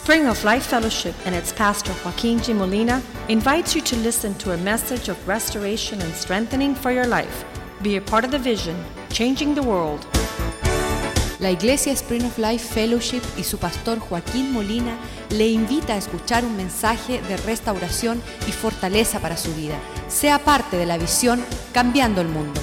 Spring of Life Fellowship and its pastor Joaquin G. Molina invites you to listen to a message of restoration and strengthening for your life. Be a part of the vision, changing the world. La Iglesia Spring of Life Fellowship y su pastor Joaquín Molina le invita a escuchar un mensaje de restauración y fortaleza para su vida. Sea parte de la visión Cambiando el Mundo.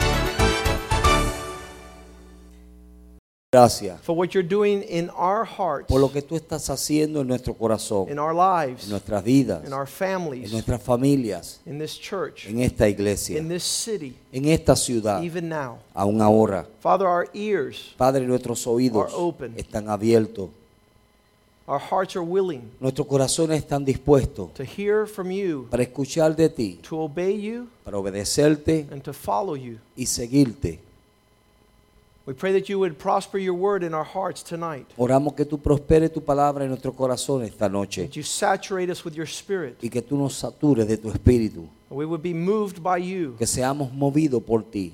Gracias for what you're doing in our hearts, por lo que tú estás haciendo en nuestro corazón, in our lives, en nuestras vidas, in our en families, nuestras familias, in this church, en esta iglesia, in this city, en esta ciudad, even now. aún ahora. Father, our ears, Padre, nuestros oídos are open. están abiertos, our hearts are willing nuestros corazones están dispuestos to hear from you, para escuchar de ti, to obey you, para obedecerte and to follow you. y seguirte. We pray that you would prosper your word in our hearts tonight. Oramos que tú prosperes tu palabra en nuestro corazón esta noche That you saturate us with your spirit. y que tú nos satures de tu espíritu, And we would be moved by you que seamos movidos por ti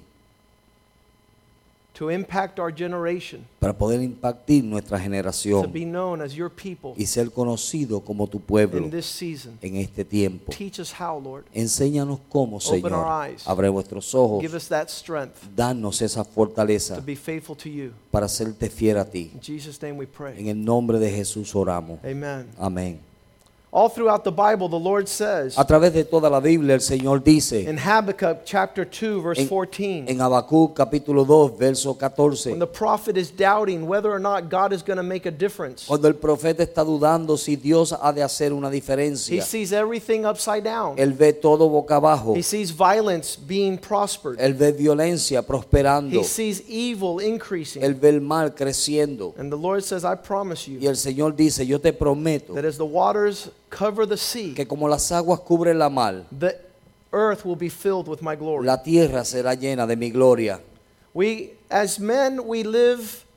to impact our generation, para poder impactar nuestra to generación be known as your people y ser conocido como tu pueblo in this season. en este tiempo. Teach us how, Lord. Enséñanos cómo, Open Señor. our eyes. Abre vuestros ojos. Give us that strength Danos esa fortaleza to be faithful to you. para serte fiel a ti. In Jesus' name we En pray. el nombre de Jesús oramos. Amen. Amén. All throughout the Bible, the Lord says A través de toda la Biblia el Señor dice in Habakkuk chapter 2, verse 14, en Habacuc capítulo 2 verso 14, when the prophet is doubting whether or not God is going to make a difference, cuando el profeta está dudando si Dios ha de hacer una he diferencia, sees everything upside down. él ve todo boca abajo, He sees violence being prospered. él ve violencia prosperando, He sees evil increasing. él ve el mal creciendo. And the Lord says, I promise Y you el Señor dice, yo te prometo that as the waters cover the sea, que como las aguas cubren la mar, the earth will be filled with my glory. la tierra será llena de mi gloria. We, as men, we live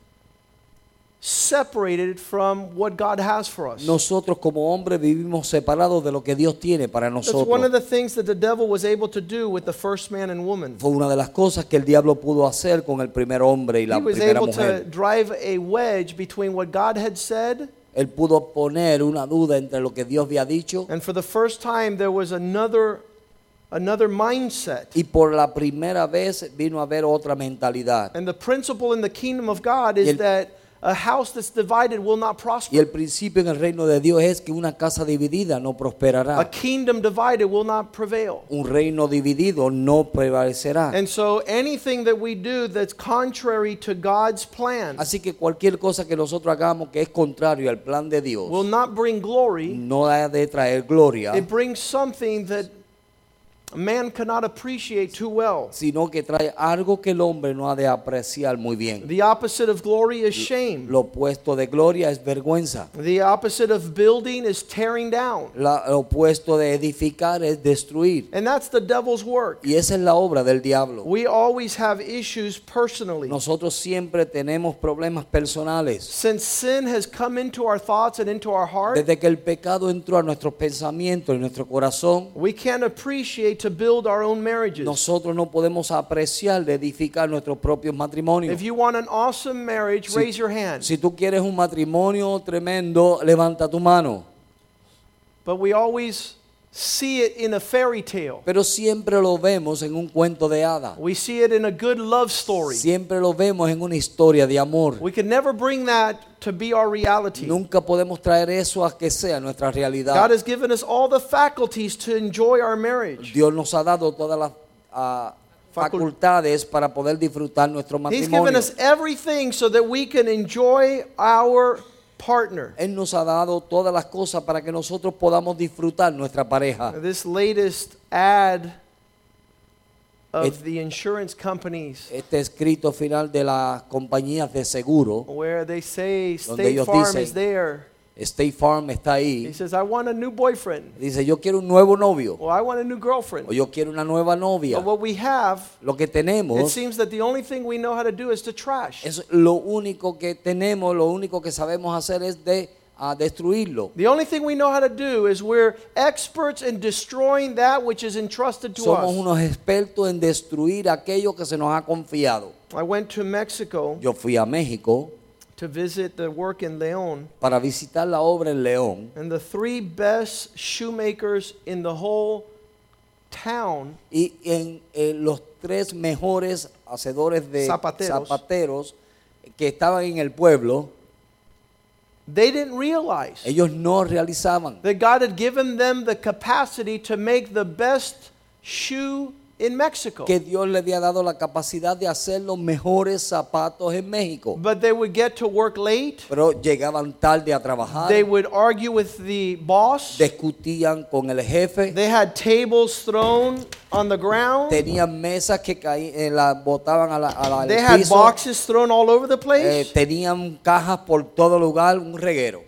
separated from what God has for us. Nosotros como hombres vivimos separados de lo que Dios tiene para That's one of nosotros. the things that the devil was able to do with the first man and woman. Fue una de las cosas que el diablo pudo hacer con el primer hombre y la He was primera able to mujer. drive a wedge between what God had said, Él pudo poner una duda entre lo que Dios había dicho and for the first time there was another mindset. y por la primera vez vino a haber otra mentalidad. And the principle in the kingdom of God Y is el- that a house that's divided will not Y prosper. el principio en el reino de Dios es que una casa dividida no A prosperará. kingdom divided will not prevail. Un reino dividido no prevalecerá. And so anything that we do that's contrary to God's plan Así que cualquier cosa que nosotros hagamos que es contrario al plan de Dios will not bring glory. no ha de traer gloria, It brings something that man cannot appreciate too well. sino que trae algo que el hombre no ha de apreciar muy bien. The opposite of glory is shame. Lo opuesto de gloria es vergüenza. The opposite of building is tearing down. Lo opuesto de edificar es destruir. And that's the devil's work. Y esa es la obra del diablo. We always have issues personally. Nosotros siempre tenemos problemas personales. Since sin has come into our thoughts and into our heart, Desde que el pecado entró a nuestros pensamientos y nuestro corazón, we can't appreciate to build our own marriages. nosotros no podemos apreciar de edificar nuestros propios matrimonios. If you want an awesome marriage, Si- raise your hand. Si tú quieres un matrimonio tremendo, levanta tu mano. But we always see it in a fairy tale. Pero siempre lo vemos en un cuento de hadas. We see it in a good love story. Siempre lo vemos en una historia de amor. We can never bring that to be our reality. Nunca podemos traer eso a que sea nuestra realidad. God has given us all the faculties to enjoy our marriage. Dios nos ha dado todas las facultades para poder disfrutar nuestro He's given matrimonio. us everything so that we can enjoy our partner. Él nos ha dado todas las cosas para que nosotros podamos disfrutar nuestra pareja. This latest ad of It- the insurance companies Este escrito final de las compañías de seguro, where they say Donde State ellos Farm dicen- is there. State Farm está He ahí. says, I want a new boyfriend. Dice, yo quiero un nuevo novio Or I want a new girlfriend. o yo quiero una nueva novia. But what we have, Lo que it tenemos seems that the only thing we know how to do is to trash. es lo único que tenemos, lo único que sabemos hacer es de destruirlo. The only thing we know how to do is we're experts in destroying that which is entrusted to Somos us. unos expertos en destruir aquello que se nos ha confiado. I went to Mexico Yo fui a México to visit the work in León. para visitar la obra en León. And the 3 best shoemakers in the whole town Y en los 3 mejores hacedores de zapateros que estaban en el pueblo, they didn't realize ellos no realizaban that God had given them the capacity to make the best shoe in Mexico. que Dios le había dado la capacidad de hacer los mejores zapatos en México. But they would get to work late. Pero llegaban tarde a trabajar, They would argue with the boss. discutían con el jefe, They had tables thrown on the ground. tenían mesas que las botaban al They had piso, boxes thrown all over the place. tenían cajas por todo lugar, un reguero.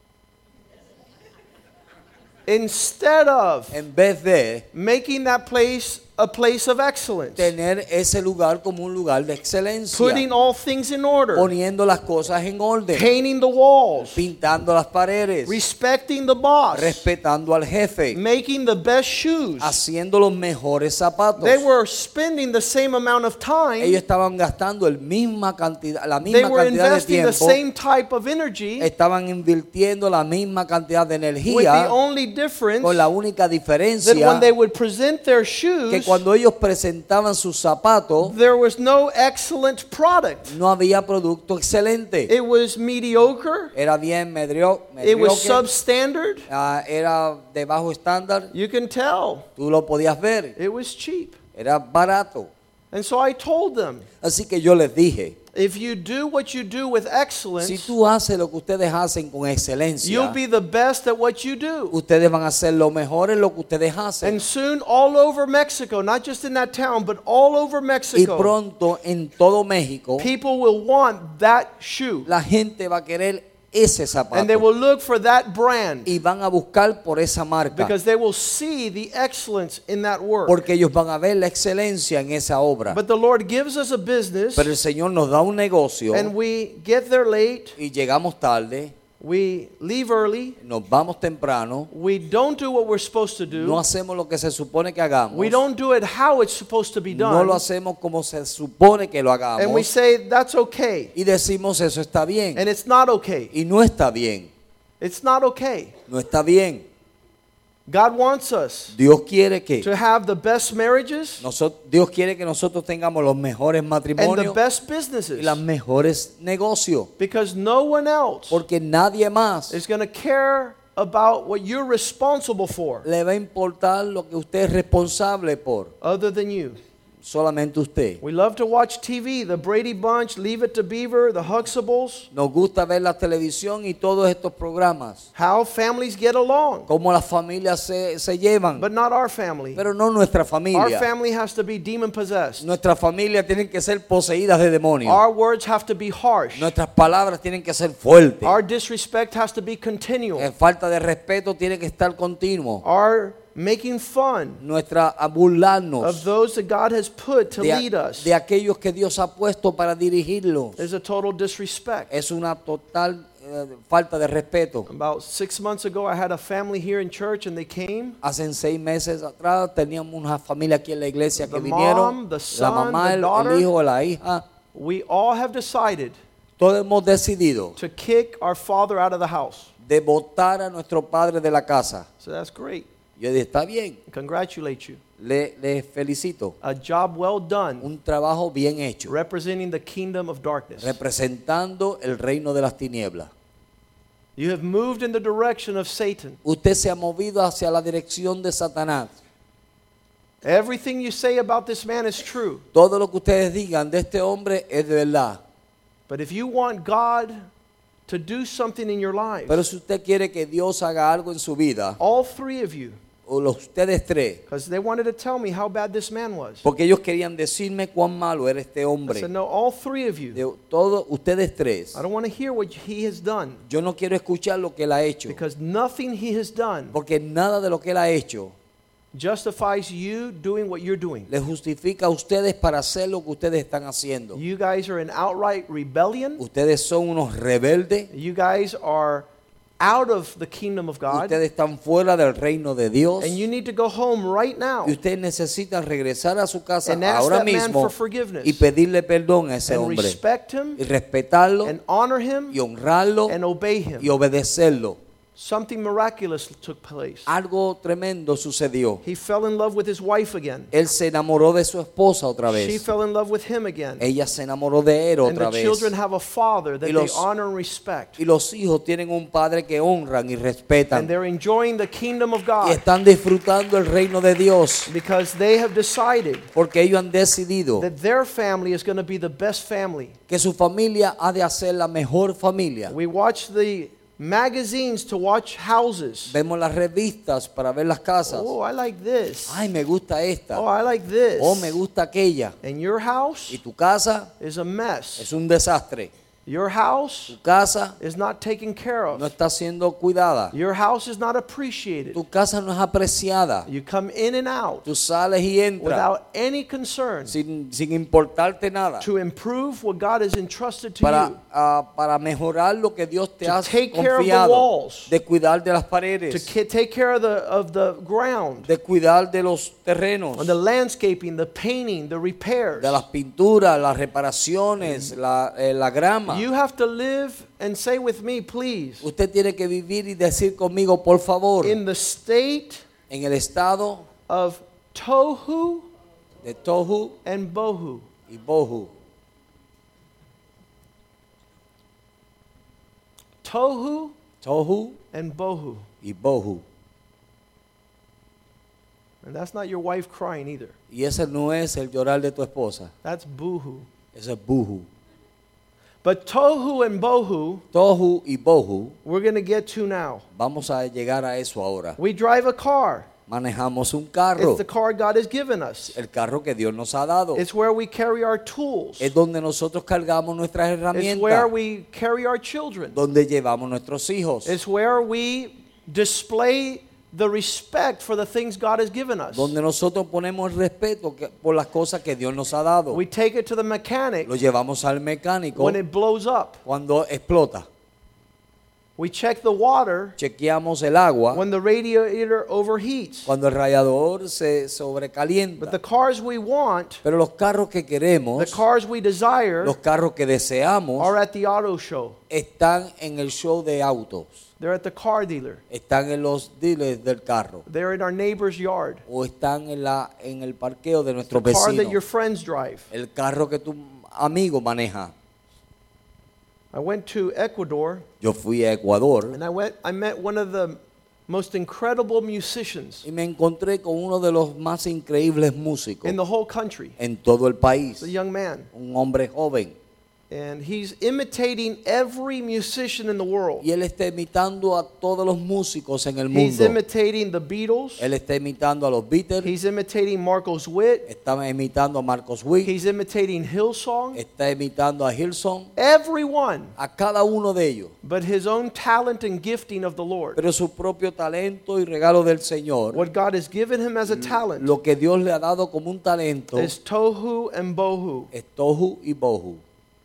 Instead of En vez de making that place a place of excellence, tener ese lugar como un lugar de excelencia, putting all things in order, poniendo las cosas en orden, painting the walls, pintando las paredes, respecting the boss, respetando al jefe, making the best shoes. haciendo los mejores zapatos. They were spending the same amount of Ellos time. estaban gastando la They misma were cantidad de investing the tiempo, same type of energy, estaban invirtiendo la misma cantidad de with the energía, only difference con la única that diferencia when they would present their que shoes, cuando ellos presentaban sus zapatos, there was no excellent product. no había producto excelente. It was mediocre. Era bien It was mediocre, substandard. era de bajo estándar, You can tell. tú lo podías ver, It was cheap. era barato. And so I told them, Así que yo les dije, if you do what you do with si excellence, tú haces lo que ustedes hacen con excelencia, you'll be the best at what you do. ustedes van a ser lo mejor en lo que ustedes hacen. And soon all over Mexico, not just in that town, but all over Y Mexico, pronto en todo México, people will want that shoe. la gente va a querer ese And they zapato will look for that brand y van a buscar por esa marca, because they will see the excellence in that work. porque ellos van a ver la excelencia en esa obra. But the Lord gives us a business, Pero el Señor nos da un negocio and we get there late, y llegamos tarde, we leave early, nos vamos temprano, we don't do what we're supposed to no do, hacemos lo que se supone que hagamos, we don't do it how it's supposed to be no done, lo hacemos como se supone que lo and we hagamos say that's okay, y decimos eso está bien and it's not okay. y no está bien, It's not okay. no está bien. God wants us Dios quiere que to have the best marriages Dios quiere que nosotros tengamos los mejores and the matrimonios best y businesses, los mejores negocios, because no one else porque nadie más is going to care about what you're responsible for le va a importar lo que usted es responsable por, other than you. solamente usted. We love to watch TV, the Brady Bunch, Leave It to Beaver, the Huxtables, Nos gusta ver la televisión y todos estos programas, how families get along, cómo las familias se llevan, but not our family. pero no nuestra Our familia. family has to be demon possessed. Nuestra familia tienen que ser poseídas de demonios. Our words have to be harsh. Nuestras palabras tienen que ser fuertes. Our disrespect has to be continual. Falta de respeto tiene que estar continuo. Our making fun Nuestra a burlarnos of those that God has put to lead us de aquellos que Dios ha puesto para dirigirlos. is a total disrespect. Es una total falta de respeto. About 6 months ago, I had a family here in church, and they came. Hace 6 meses atrás teníamos una familia aquí en la iglesia que The vinieron, mom, the la son, mamá, the el daughter. hijo, la hija. We all have decided Todos hemos decidido to kick our father out of the house. de votar a nuestro padre de la casa. So that's great. Yo dije, está bien, Congratulate you. le felicito. A job well done Un trabajo bien hecho, representing the kingdom of darkness. representando el reino de las tinieblas. You have moved in the direction of Satan. Usted se ha movido hacia la dirección de Satanás. Everything you say about this man is true. Todo lo que ustedes digan de este hombre es de verdad. But if you want God to do something in your life, Pero si usted quiere que Dios haga algo en su vida, all 3 of you, o ustedes 3, because they wanted to tell me how bad this man was. porque ellos querían decirme cuán malo era este I hombre. said, no, all 3 of you. De todos ustedes 3, I don't want to hear what he has done, yo no quiero escuchar lo que él ha hecho, because nothing he has done porque nada de lo que él ha hecho justifies you doing what you're doing. les justifica a ustedes para hacer lo que ustedes están haciendo. You guys are in outright rebellion. Ustedes son unos rebeldes, You guys are out of the kingdom of God. Ustedes están fuera del reino de Dios. And you need to go home right now. Y ustedes necesitan regresar a su casa And ask ahora that man mismo for forgiveness. y pedirle perdón a ese And hombre. respect him. Y respetarlo. And honor him. Y honrarlo. And obey him. Y obedecerlo. Something miraculous took place. Algo tremendo sucedió. He fell in love with his wife again. Él se enamoró de su esposa otra She vez. fell in love with him again. Ella se enamoró de él And otra the vez. children have a father that Y they los- honor and respect. Y los hijos tienen un padre que honran y And respetan. they're enjoying the kingdom of Y God están disfrutando el reino de Dios. because they have decided Porque ellos han decidido that their family is going to be the best family. que su familia ha de ser la mejor familia. We watch the magazines to watch houses. Vemos las revistas para ver las casas. Oh, I like this. Ay, me gusta esta. Oh, I like this. Oh, me gusta aquella. And your house Y tu casa is a mess. es un desastre. Your house Tu casa is not taken care no of. está siendo cuidada. Your house is not appreciated. Tu casa no es apreciada. You come in and out Tú sales y entras without any concern sin importarte nada. to improve what God has entrusted to you. Para mejorar lo que Dios te To ha take care of the confiado. walls. De cuidar de las To paredes. take care of the ground, De cuidar de los terrenos. and the landscaping, the painting, the repairs. De las pinturas, las reparaciones, la grama. You have to live and say with me, please, Usted tiene que vivir y decir conmigo, por favor, in the state en el estado of tohu de tohu and bohu. y bohu. Tohu Tohu and bohu. y bohu. And that's not your wife crying either. Y ese no es el llorar de tu esposa. That's boohoo. Ese es buhu. But tohu and bohu, Tohu y bohu. we're going to get to now. Vamos a llegar a eso ahora. We drive a car. Manejamos un carro. It's the car God has given us. El carro que Dios nos ha dado. It's where we carry our tools. Es donde nosotros cargamos nuestras It's where herramientas. we carry our children. Donde llevamos nuestros hijos. It's where we display the respect for the things God has given us. Donde nosotros ponemos el respeto por las cosas que Dios nos ha dado. We take it to the mechanic Lo llevamos al mecánico when it blows up. cuando explota. We check the water Chequeamos el agua when the radiator overheats. cuando el radiador se sobrecalienta. But the cars we want, Pero los carros que queremos, the cars we desire, los carros que deseamos, are at the auto show. están en el show de autos. They're at the car dealer. Están en los dealers del carro. They're in our neighbor's yard. O están en el parqueo de nuestros The car that your vecinos. friends drive. El carro que tu amigo maneja. I went to Ecuador Yo fui a Ecuador and I met one of the most incredible musicians y me encontré con uno de los más increíbles músicos in the whole country. en todo el país. It's a young man. Un hombre joven. And he's imitating every musician in the world. Y él está imitando a todos los músicos en el He's mundo. imitating the Beatles. Él está imitando a los Beatles. He's imitating Marcos Witt. Está imitando a Marcos Witt. He's imitating Hillsong. Está imitando a Hillsong. Everyone, A cada uno de ellos. but his own talent and gifting of the Lord. Pero su propio talento y regalo del Señor. What God has given him as a talent Lo que Dios le ha dado como un talento is tohu and bohu. es tohu y bohu.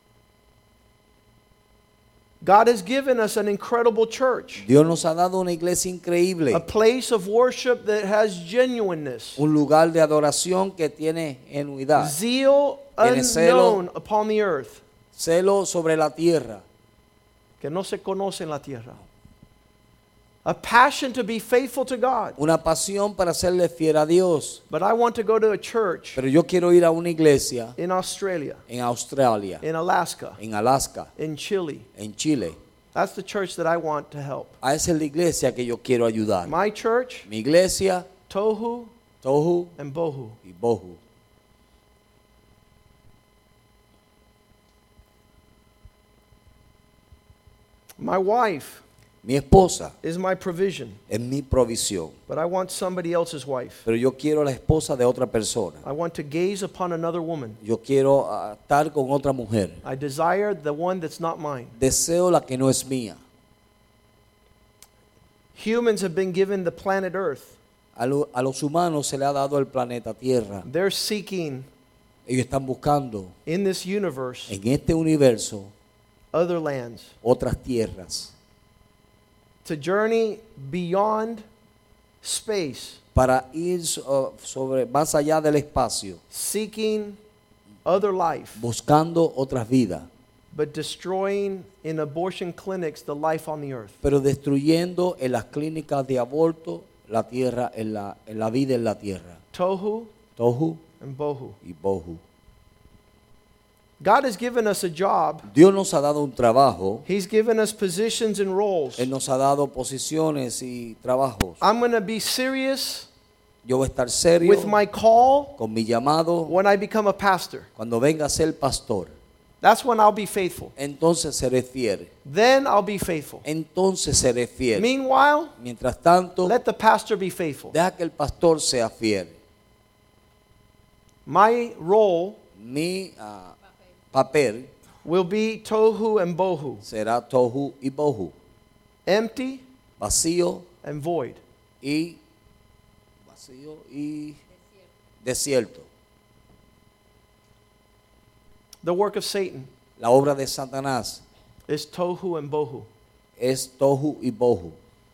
God has given us an incredible church, Dios nos ha dado una iglesia increíble. a place of worship that has genuineness, Un lugar de adoración que tiene genuidad. zeal Tiene celo. unknown upon the earth, Celo sobre la tierra. que no se conoce en la tierra. A passion to be faithful to God. Una pasión para serle fiel a Dios. But I want to go to a church Pero yo quiero ir a una iglesia in Australia, en Australia, in Alaska, en Alaska, in Chile. en Chile. That's the church that I want to help. A esa es la iglesia que yo quiero ayudar. My church, Mi iglesia, tohu tohu and bohu. y bohu. My wife Mi esposa is my provision, es mi provisión. but I want somebody else's wife. Pero yo quiero la esposa de otra persona. I want to gaze upon another woman. Yo quiero estar con otra mujer. I desire the one that's not mine. Deseo la que no es mía. Humans have been given the planet Earth. A los humanos se le ha dado el planeta Tierra. They're seeking Ellos están buscando in this universe en este universo other lands, otras tierras. to journey beyond space, para ir más allá del espacio, seeking other life, buscando otras vidas, but destroying in abortion clinics the life on the earth. pero destruyendo en las clínicas de aborto la tierra, en la vida en la tierra. Tohu Tohu and bohu. y bohu. God has given us a job. Dios nos ha dado un trabajo. He's given us positions and roles. Él nos ha dado posiciones y trabajos. I'm going to be serious Yo voy a estar serio with my call con mi llamado when I become a pastor. cuando venga a ser pastor. That's when I'll be faithful. Entonces seré fiel. Then I'll be faithful. Entonces seré fiel. Meanwhile, Mientras tanto, let the pastor be faithful. deja que el pastor sea fiel. My role Mi papel will be tohu and bohu, será tohu y bohu, empty vacío and void. y desierto. The work of Satan La obra de Satanás is tohu and bohu. es tohu y bohu.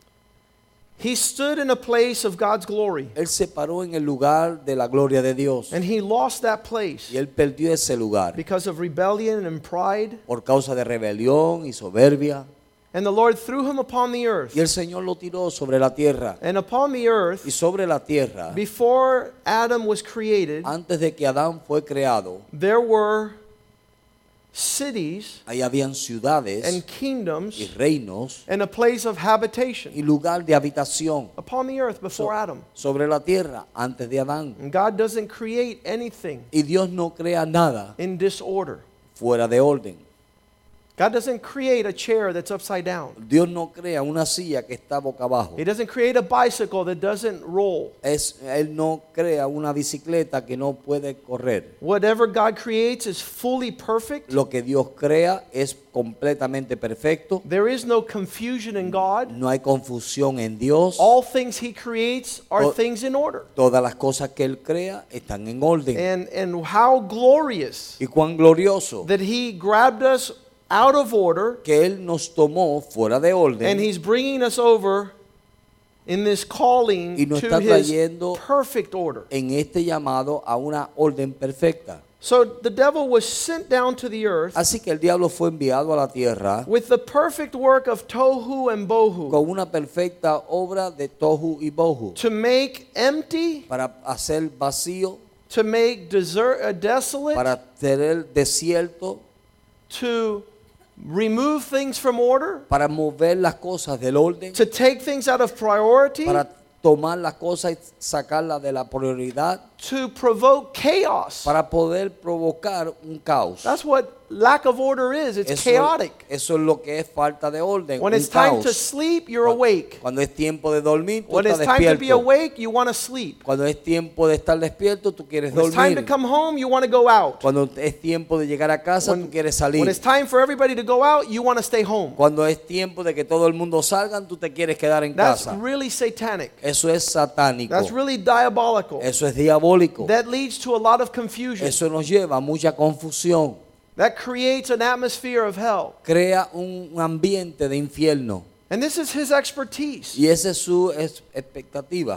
He stood in a place of God's glory, Él se paró en el lugar de la gloria de Dios and he lost that place y él perdió ese lugar because of rebellion and pride. por causa de rebelión y soberbia. And the Lord threw him upon the earth. Y el Señor lo tiró sobre la tierra. And upon the earth, Y sobre la tierra, before Adam was created, antes de que Adán fue creado, there were cities ahí habían ciudades and y kingdoms reinos and a place of habitation y lugar de habitación upon the earth before Adam. sobre la tierra antes de Adán. And God doesn't create anything Y Dios no crea nada in disorder. fuera de orden. God doesn't create a chair that's upside down. Dios no crea una silla que está boca abajo. He doesn't create a bicycle that doesn't roll. Él no crea una bicicleta que no puede correr. Whatever God creates is fully perfect. Lo que Dios crea es completamente perfecto. There is no confusion in God. No hay confusión en Dios. All things He creates are things in order. Todas las cosas que Él crea están en orden. And how glorious Y cuán glorioso that He grabbed us out of order, que Él nos tomó fuera de orden and He's bringing us over in this calling y nos to está His trayendo perfect order. en este llamado a una orden perfecta. So the devil was sent down to the earth Así que el diablo fue enviado a la tierra with the perfect work of tohu and bohu con una perfecta obra de tohu y bohu to make empty, para hacer vacío, to make desolate, para tener desierto, to remove things from order, para mover las cosas del orden, to take things out of priority, para tomar las cosas y sacarlas de la prioridad, to provoke chaos. para poder provocar un caos. That's what lack of order is. It's chaotic. Eso es lo que es falta de orden, When un it's time caos. to sleep, you're awake. Cuando es tiempo de dormir, tú When estás it's time to be despierto. awake, you want to sleep. Cuando es tiempo de estar despierto, tú quieres When it's time to dormir. come home, you want to go out. Cuando es tiempo de llegar a casa, tú quieres When salir. it's time for everybody to go out, you want to stay home. Cuando es tiempo de que todo el mundo salga, tú te quieres quedar en That's casa. really satanic. Eso es satánico. That's really diabolical. Eso es diabólico. That leads to a lot of confusion. Eso nos lleva a mucha confusión. That creates an atmosphere of hell. Crea un ambiente de infierno. And this is his expertise. Y esa es su expectativa.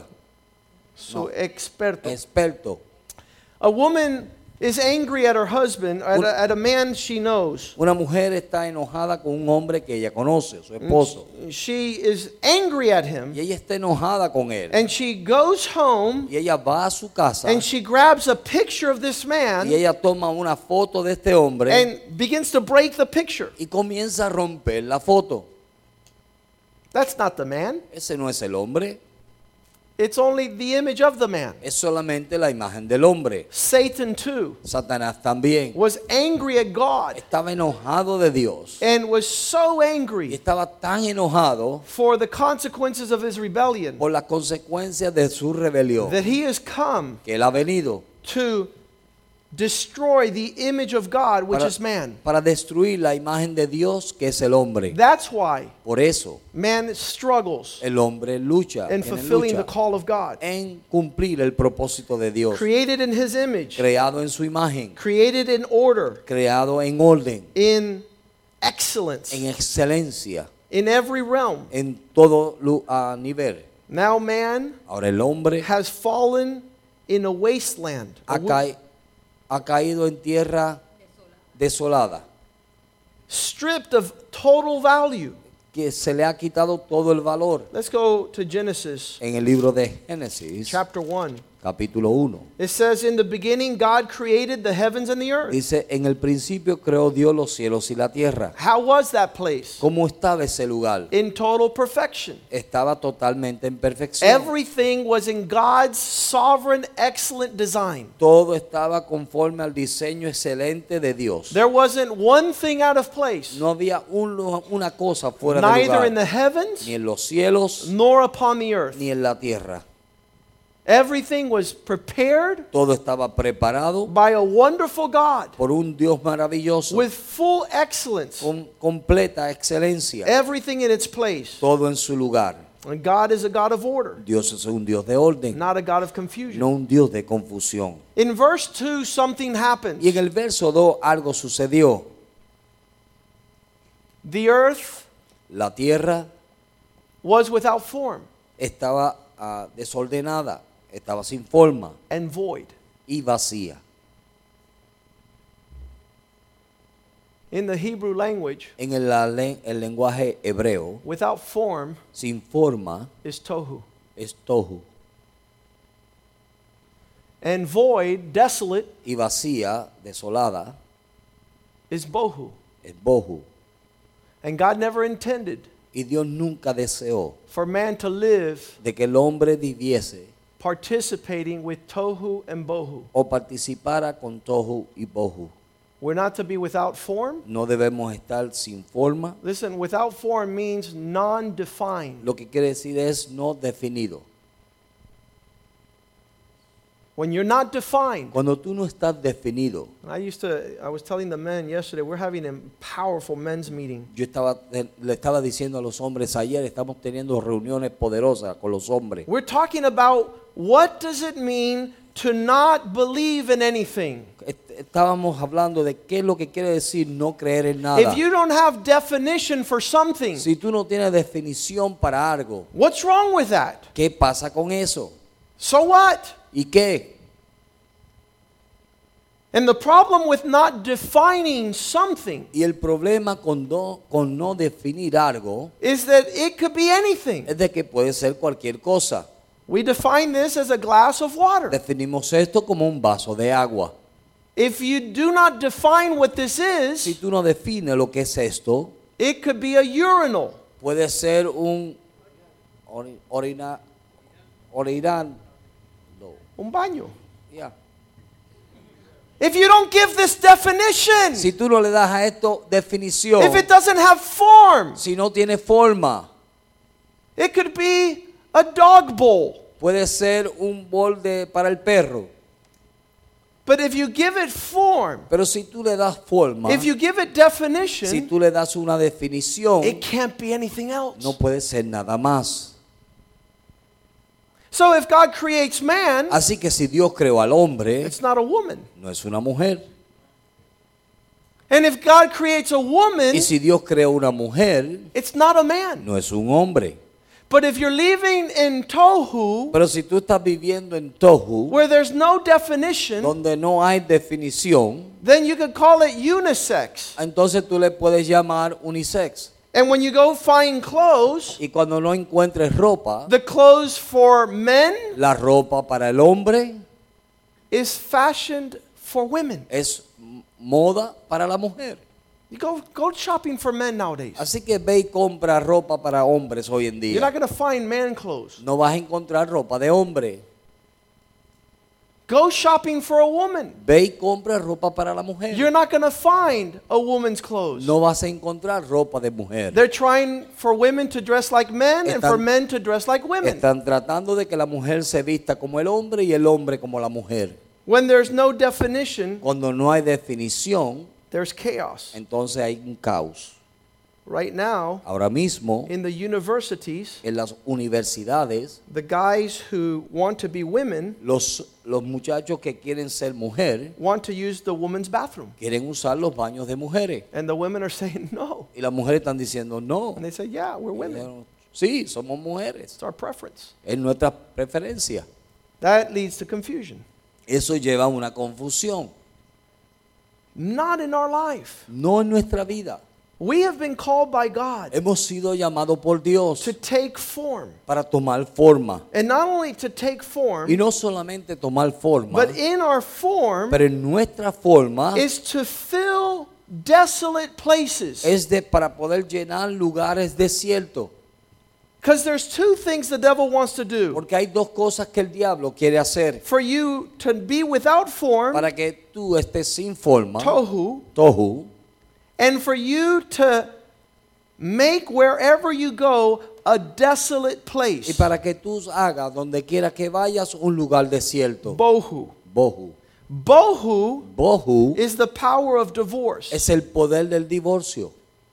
Su experto. Experto. A woman is angry at her husband, at a man she knows. Una mujer está enojada con un hombre que ella conoce, su esposo. She is angry at him, Y ella está enojada con él. and she goes home Y ella va a su casa and she grabs a picture of this man y ella toma una foto de este hombre and begins to break the picture. y comienza a romper la foto. That's not the man. Ese no es el hombre, It's only the image of the man. es solamente la imagen del hombre. Satan too Satanás también was angry at God estaba enojado de Dios and was so y angry estaba tan enojado for the consequences of his rebellion por las consecuencias de su rebelión that he has come que él ha venido to destroy the image of God, which para, is man. para destruir la imagen de Dios que es el hombre. That's why Por eso man struggles el hombre lucha, in tiene fulfilling lucha the call of God. en cumplir el propósito de Dios, Created in his image, creado en su imagen, created in order, creado en orden, in excellence. en excelencia. in every realm. En todo nivel. Now man Ahora el hombre has fallen in a wasteland. ha caído en tierra desolada, stripped of total value. que se le ha quitado todo el valor. Let's go to Genesis En el libro de Génesis, chapter 1. capítulo 1, It says, in the beginning God created the heavens and the earth. dice, en el principio creó Dios los cielos y la tierra. How was that place? ¿Cómo estaba ese lugar? In total perfection. Estaba totalmente en perfección. Everything was in God's sovereign, excellent design. Todo estaba conforme al diseño excelente de Dios. There wasn't one thing out of place, No había una cosa fuera de neither lugar, in the heavens ni en los cielos, nor upon the earth. ni en la tierra. Everything was prepared Todo estaba preparado by a wonderful God por un Dios maravilloso, with full excellence. con completa excelencia. Everything in its place. Todo en su lugar. And God is a God of order, Dios es un Dios de orden, not a God of confusion. no un Dios de confusión. In verse 2, something happens. Y en el verso 2 algo sucedió. The earth La tierra was without form estaba desordenada, estaba sin forma and void. y vacía. In the Hebrew language, En el lenguaje hebreo, without form sin forma is tohu. es tohu, And void, desolate, y vacía, desolada, is bohu. es bohu. And God never intended Y Dios nunca deseó for man to live de que el hombre viviese participating with tohu and bohu. o participara con tohu y bohu. We're not to be without form. No debemos estar sin forma. Listen, without form means non-defined. Lo que quiere decir es no definido. When you're not defined. Cuando tú no estás definido. I was telling the men yesterday, we're having a powerful men's meeting. Le estaba diciendo a los hombres ayer, estamos teniendo reuniones poderosas con los hombres. We're talking about what does it mean to not believe in anything. Estábamos hablando de qué es lo que quiere decir no creer en nada. If you don't have definition for something, Si tú no tienes definición para algo, what's wrong with that? ¿qué pasa con eso? So what? ¿Y qué? And the problem with not defining something Y el problema con no definir algo is that it could be anything. es de que puede ser cualquier cosa. We define this as a glass of water. Definimos esto como un vaso de agua. If you do not define what this Si is, tú no defines lo que es esto, it could be a urinal. puede ser un orinal. Un baño. Yeah. If you don't give this definition, Si tú no le das a esto definición, if it doesn't have form, si no tiene forma, it could be a dog bowl. puede ser un bol para el perro. But if you give it form, Pero si tú le das forma, if you give it si definition, tú le das una definición, it can't be anything else. no puede ser nada más. So if God creates man, Así que si Dios creó al hombre, it's not a woman. no es una mujer. And if God creates a woman, Y si Dios creó una mujer, it's not a man. no es un hombre. But if you're living in tohu, Pero si tú estás viviendo en tohu, where there's no definition, donde no hay definición, then you could call it unisex. entonces tú le puedes llamar unisex. And when you go find clothes, Y cuando no encuentres ropa, the clothes for men la ropa para el hombre is fashioned for women. es moda para la mujer. You go shopping for men nowadays. Así que ve y compra ropa para hombres hoy en You're not día. going to find man clothes. No vas a encontrar ropa de hombre. Go shopping for a woman. Ve y compra ropa para la mujer. You're not going to find a woman's clothes. No vas a encontrar ropa de mujer. They're trying for women to dress like men and for Están- men to dress like women. Están tratando de que la mujer se vista como el hombre y el hombre como la mujer. When there's no definition, Cuando no hay definición, there's chaos. entonces hay un caos. Right now, ahora mismo, in the universities, en las universidades, the guys who want to be women los muchachos que quieren ser mujer want to use the women's bathroom. quieren usar los baños de mujeres. And the women are saying no. Y las mujeres están diciendo no. And they say, yeah, we're women. Sí, somos mujeres. It's our preference. Es nuestra preferencia. That leads to confusion. Eso lleva a una confusión. Not in our life. No en nuestra vida. We have been called by God Hemos sido llamados por Dios to take form. para tomar forma. And not only to take form, Y no solamente tomar forma, but in our form pero en nuestra forma is to fill desolate places. es para poder llenar lugares desiertos. Because there's two things the devil wants to do. Porque hay dos cosas que el diablo quiere hacer. For you to be without form, Para que tú estés sin forma, tohu, and for you to make wherever you go a desolate place, y para que tú hagas donde quiera que vayas un lugar desierto. bohu. Bohu. Bohu is the power of divorce. Es el poder del divorcio.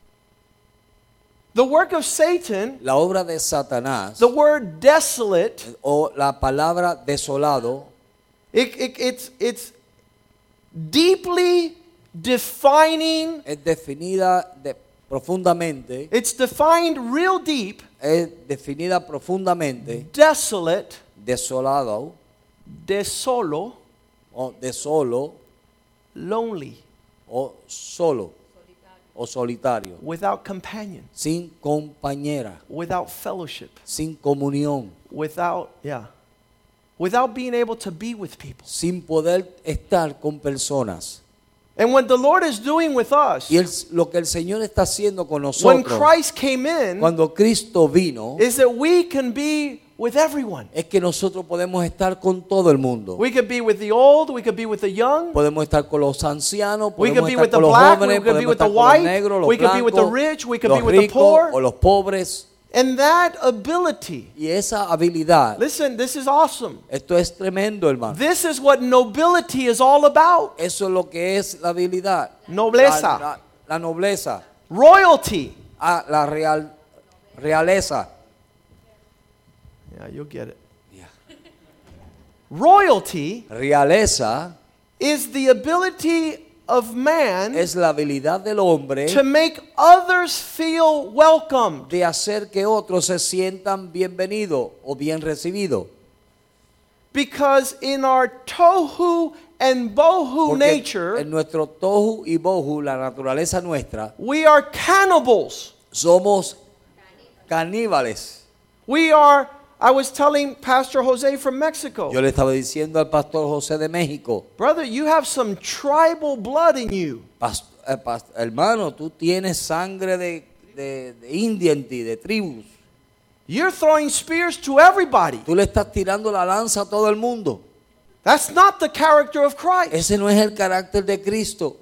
The work of Satan, La obra de Satanás, the word desolate, o la palabra desolado, it's deeply defining. es definida profundamente, It's defined real deep. es definida profundamente, Desolate, desolado, desolo, o de solo, lonely, o solo, o solitario, without companion, sin compañera, without fellowship, sin comunión, without being able to be with people. sin poder estar con personas. And what the Lord is doing with us, Y lo que el Señor está haciendo con when nosotros, Christ came in, cuando Cristo vino, is that we can be with everyone. es que nosotros podemos estar con todo el mundo. We could be with the old, we could be with the young, Podemos estar con los ancianos, we could podemos be estar with the con los black, we jóvenes, could be podemos with the estar con los white, negros, los we could be with the blancos, rich, we could be los with the ricos poor. o los pobres. And that ability, Y esa habilidad, listen, this is awesome. esto es tremendo, hermano. This is what nobility is all about. Eso es lo que es la habilidad. Nobleza. La nobleza. Royalty. La realeza. Yeah, you'll get it. Yeah. Royalty Realeza is the ability of man es la habilidad del hombre to make others feel welcomed. de hacer que otros se sientan bienvenidos o bien recibidos. Because in our tohu and bohu Porque nature, en nuestro tohu y bohu, la naturaleza nuestra, we are cannibals. somos caníbales. I was telling Pastor Jose from Mexico, Yo le estaba diciendo al pastor José de México, brother, you have some tribal blood in you. hermano, tú tienes sangre de India en ti, de tribus. You're throwing spears to everybody. Tú le estás tirando la lanza a todo el mundo. That's not the character of Christ. Ese no es el carácter de Cristo.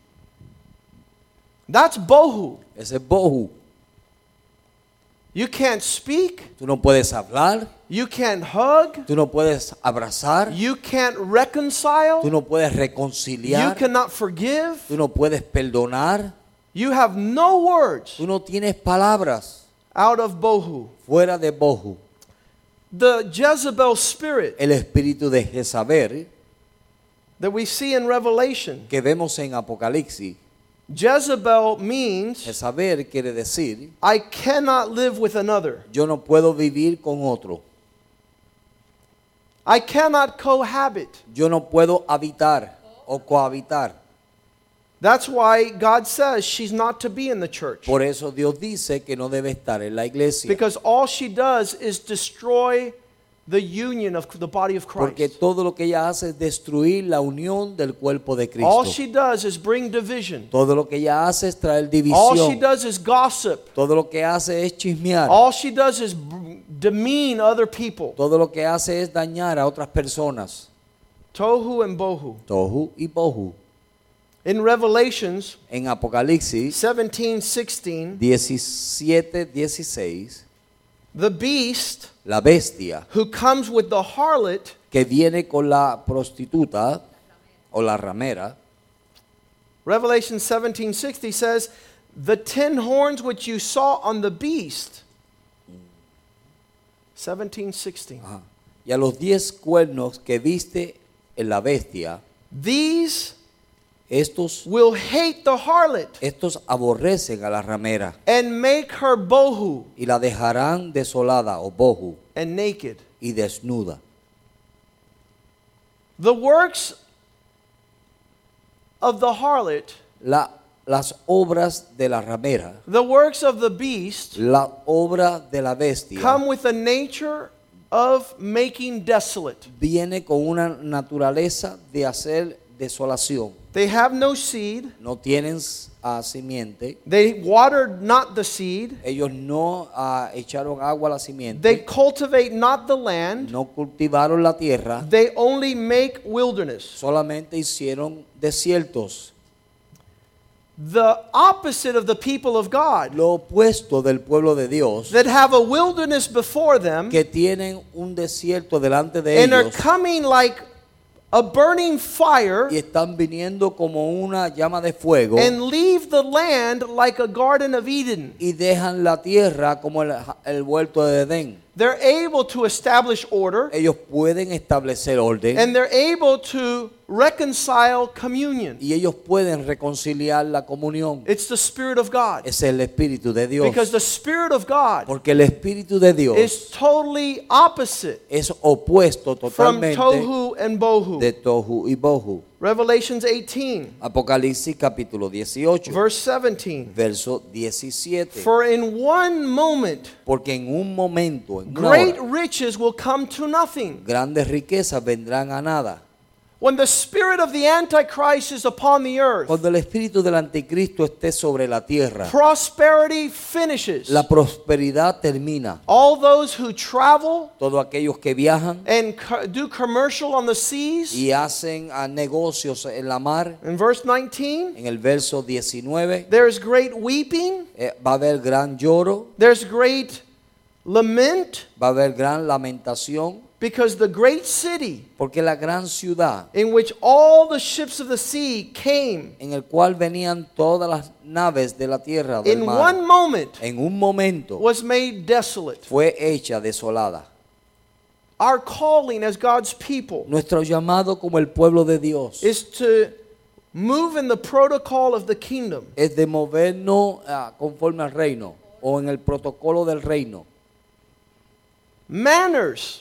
That's bohu. Ese es bohu. You can't speak. Tú no puedes hablar. You can't hug. Tú no puedes abrazar. You can't reconcile. Tú no puedes You reconciliar. cannot forgive. Tú no puedes perdonar. You have no words Tú no tienes palabras out of bohu. fuera de bohu. The Jezebel spirit El espíritu de Jezabel that we see in Revelation. que vemos en Apocalipsis. Jezebel means Jezabel quiere decir, I cannot live with another. yo no puedo vivir con otro. I cannot cohabit. Yo no puedo habitar o cohabitar. That's why God says she's not to be in the church. Por eso Dios dice que no debe estar en la iglesia. Because all she does is destroy the union of the body of Porque Christ. todo lo que ella hace es destruir la unión del cuerpo de Cristo. All she does is bring division. Todo lo que ella hace es traer All she división. does is gossip. Todo lo que hace es chismear. All she does is demean other people. Todo lo que hace es dañar a otras personas. Tohu and bohu. Tohu y bohu. In Revelations En Apocalipsis 17:16, 17:16, the beast la bestia who comes with the harlot que viene con la prostituta o la ramera, Revelation 17:60 says The 10 horns which you saw on the beast. 17:16. Y a los 10 cuernos que viste en la bestia, estos will hate the harlot, estos aborrecen a la ramera, and make her bohu, y la dejarán desolada o bohu, and naked, y desnuda. The works of the harlot, las obras de la ramera, the works of the beast, la obra de la bestia, come with a nature of making desolate. Viene con una naturaleza de hacer desolación. They have no seed. No tienen simiente. They watered not the seed. Ellos no echaron agua a la simiente. They cultivate not the land. No cultivaron la tierra. They only make wilderness. Solamente hicieron desiertos. The opposite of the people of God, lo opuesto del pueblo de Dios, that have a wilderness before them, que tienen un desierto delante de and ellos, are coming like a burning fire, y están viniendo como una llama de fuego, and leave the land like a garden of Eden. Y dejan la tierra como el huerto de Edén. They're able to establish order. Ellos pueden establecer orden. And they're able to reconcile communion. Y ellos pueden reconciliar la comunión. It's the Spirit of God. Es el Espíritu de Dios. Because the Spirit of God, porque el Espíritu de Dios, is totally opposite, es opuesto totalmente, from tohu and bohu. De tohu y bohu. Revelations 18. Apocalipsis capítulo 18. Verse 17. Verso 17. For in one moment, porque en un momento, en great riches will come to nothing. Grandes riquezas vendrán a nada. When the spirit of the Antichrist is upon the earth, cuando el espíritu del anticristo esté sobre la tierra, prosperity finishes. La prosperidad termina. All those who travel, todos aquellos que viajan, and do commercial on the seas, y hacen negocios en la mar. In verse 19, en el verso 19, there's great weeping. Va a haber gran lloro. There's great lament. Va a haber gran lamentación. Because the great city, porque la gran ciudad, in which all the ships of the sea came, en el cual venían todas las naves de la tierra del in mar, one moment, en un momento, was made desolate. Fue hecha desolada. Our calling as God's people, nuestro llamado como el pueblo de Dios, is to move in the protocol of the kingdom. Es de movernos conforme al reino o en el protocolo del reino. Manners.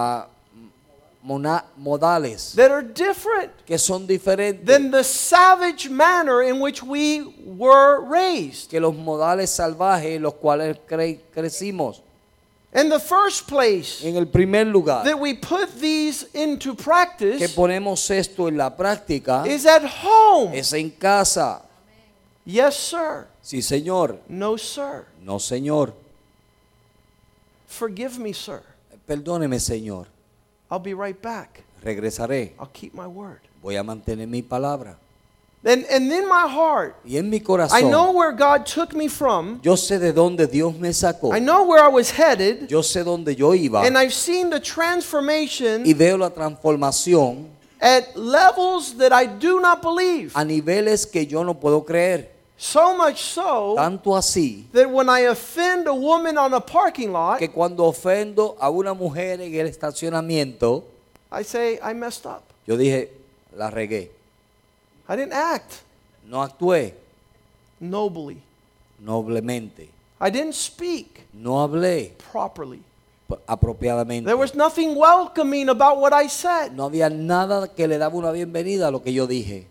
Modales that are different, que son diferentes, than the savage manner in which we were raised. Que los modales salvajes en los cuales crecimos. In the first place, en el primer lugar, that we put these into practice, que ponemos esto en la práctica, is at home. Es en casa. Yes, sir. Sí, señor. No, sir. No, señor. Forgive me, sir. Perdóneme, Señor. I'll be right back. Regresaré. I'll keep my word. Voy a mantener mi palabra. And in my heart, y en mi corazón, I know where God took me from. Yo sé de dónde Dios me sacó. I know where I was headed. Yo sé dónde yo iba. And I've seen the transformation. Y veo la transformación. At levels that I do not believe. A niveles que yo no puedo creer. So much so, tanto así, that when I offend a woman on a parking lot, que cuando ofendo a una mujer en el estacionamiento, I say I messed up. Yo dije, la regué. I didn't act. No actué. Nobly. Noblemente. I didn't speak. No hablé. Properly. Apropiadamente. There was nothing welcoming about what I said. No había nada que le daba una bienvenida a lo que yo dije.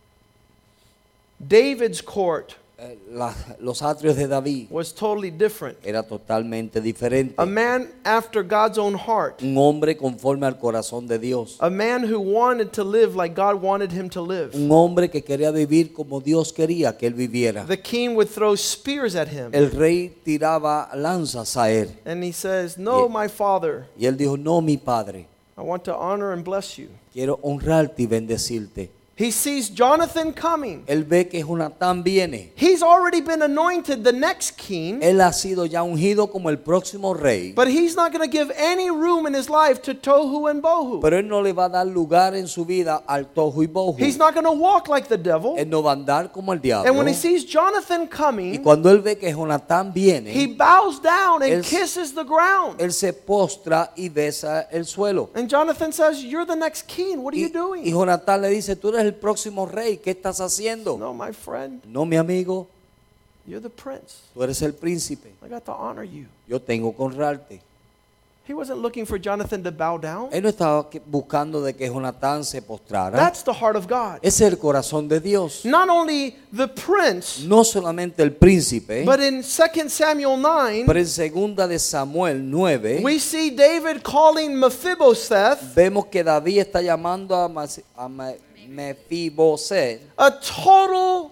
David's court, los atrios de David, was totally different. Era totalmente diferente. A man after God's own heart. Un hombre conforme al corazón de Dios. A man who wanted to live like God wanted him to live. Un hombre que quería vivir como Dios quería que él viviera. The king would throw spears at him. El rey tiraba lanzas a él. And he says, "No, my father." Y él dijo, "No, mi padre. I want to honor and bless you. Quiero honrarte y bendecirte." He sees Jonathan coming. Él ve que Jonatán viene. He's already been anointed the next king. Él ha sido ya ungido como el próximo rey. But he's not going to give any room in his life to tohu and bohu. Pero él no le va a dar lugar en su vida al tohu y bohu. He's not going to walk like the devil. Él no va a andar como el diablo. And when he sees Jonathan Y coming, cuando él ve que Jonatán viene, he bows down and él- kisses the ground. él se postra y besa el suelo. And Jonathan says, "You're the next king. What are you Y doing?" Jonatán le dice, tú eres el próximo rey, ¿qué estás haciendo? No, my friend, No, mi amigo, you're the prince. tú eres el príncipe. I got to honor you. Yo tengo que honrarte. He wasn't looking for Jonathan to bow down. Él no estaba buscando de que Jonatán se postrara. That's the heart of God. Ese es el corazón de Dios. Not only the prince, No solamente el príncipe, but in 2 Samuel 9, pero en segunda de Samuel 9, we see David calling Mephibosheth vemos que David está llamando a Mefiboset, a total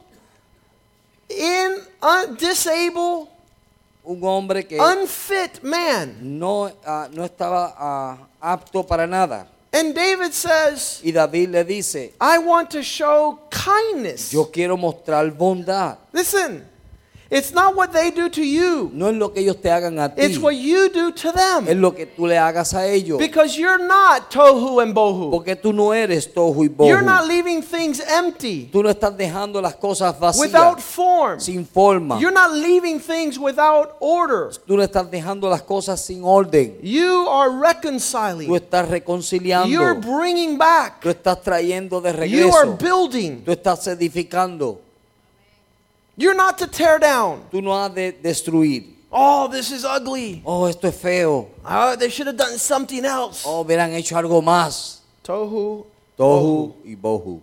disabled, un hombre que unfit man. no estaba apto para nada. And David says, Y David le dice, I want to show kindness. yo quiero mostrar bondad. Listen, it's not what they do to you. No es lo que ellos te hagan a ti, It's what you do to es them. lo que tú le hagas a ellos. Because you're not tohu and bohu. Porque tú no eres tohu y bohu. You're not leaving things empty, Tú no estás dejando las cosas vacías, without form. sin forma. You're not leaving things without order. Tú no estás dejando las cosas sin orden. You are Tú reconciling. estás reconciliando. You're bringing back. Tú estás trayendo de You are regreso. building. Tú estás edificando. You're not to tear down. Tú no has de destruir. Oh, this is ugly. Oh, esto es feo. Oh, they should have done something else. Oh, hubieran hecho algo más. Tohu, Tohu y bohu.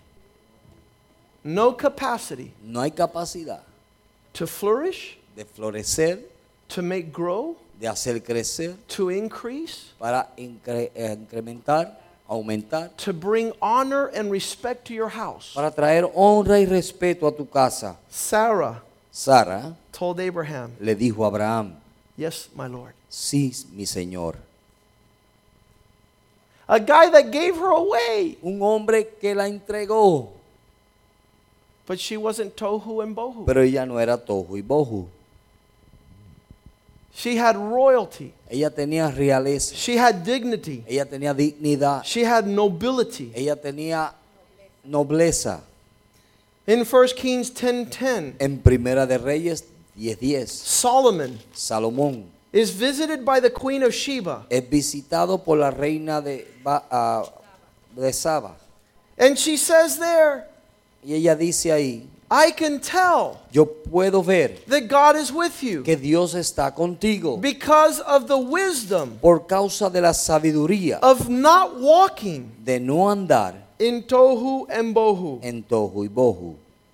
no capacity No hay capacidad to flourish, de florecer, to make grow, de hacer crecer, to increase, para incrementar, aumentar, to bring honor and respect to your house. para traer honra y respeto a tu casa. Sarah Sara told Abraham, le dijo a Abraham, yes, my Lord. sí, mi señor. A guy that gave her away, Un hombre que la entregó, but she wasn't tohu and bohu. pero ella no era tohu y bohu. She had royalty. Ella tenía realeza, She had dignity. ella tenía dignidad, She had nobility. ella tenía nobleza. In 1 Kings 10:10, En Primera de Reyes 10:10, Solomon Salomón is visited by the queen of Sheba. es visitado por la reina de Saba. And she says there, Y ella dice ahí, I can tell yo puedo ver that God is with you que Dios está contigo because of the wisdom por causa de la sabiduría of not walking de no andar in tohu and bohu. en tohu y bohu.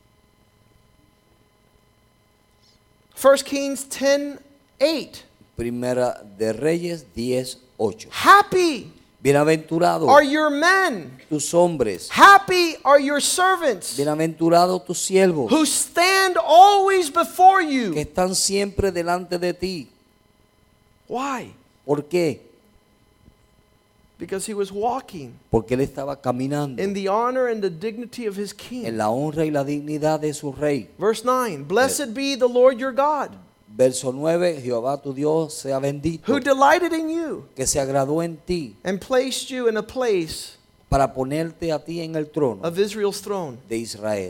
1 Kings 10:8. Primera de Reyes 10:8. Happy Bienaventurados are your men. tus hombres, Happy are your servants bienaventurados tus siervos, who stand always before que you. están siempre delante de ti. Why? ¿Por qué? Because he was walking Porque él estaba caminando in the honor and the dignity of his en king. la honra y la dignidad de su rey. Verse 9. Blessed be the Lord your God, Verso 9, Jehová tu Dios sea bendito, who delighted in you que se agradó en ti and placed you in a place para ponerte a ti en el trono of Israel's throne. de Israel.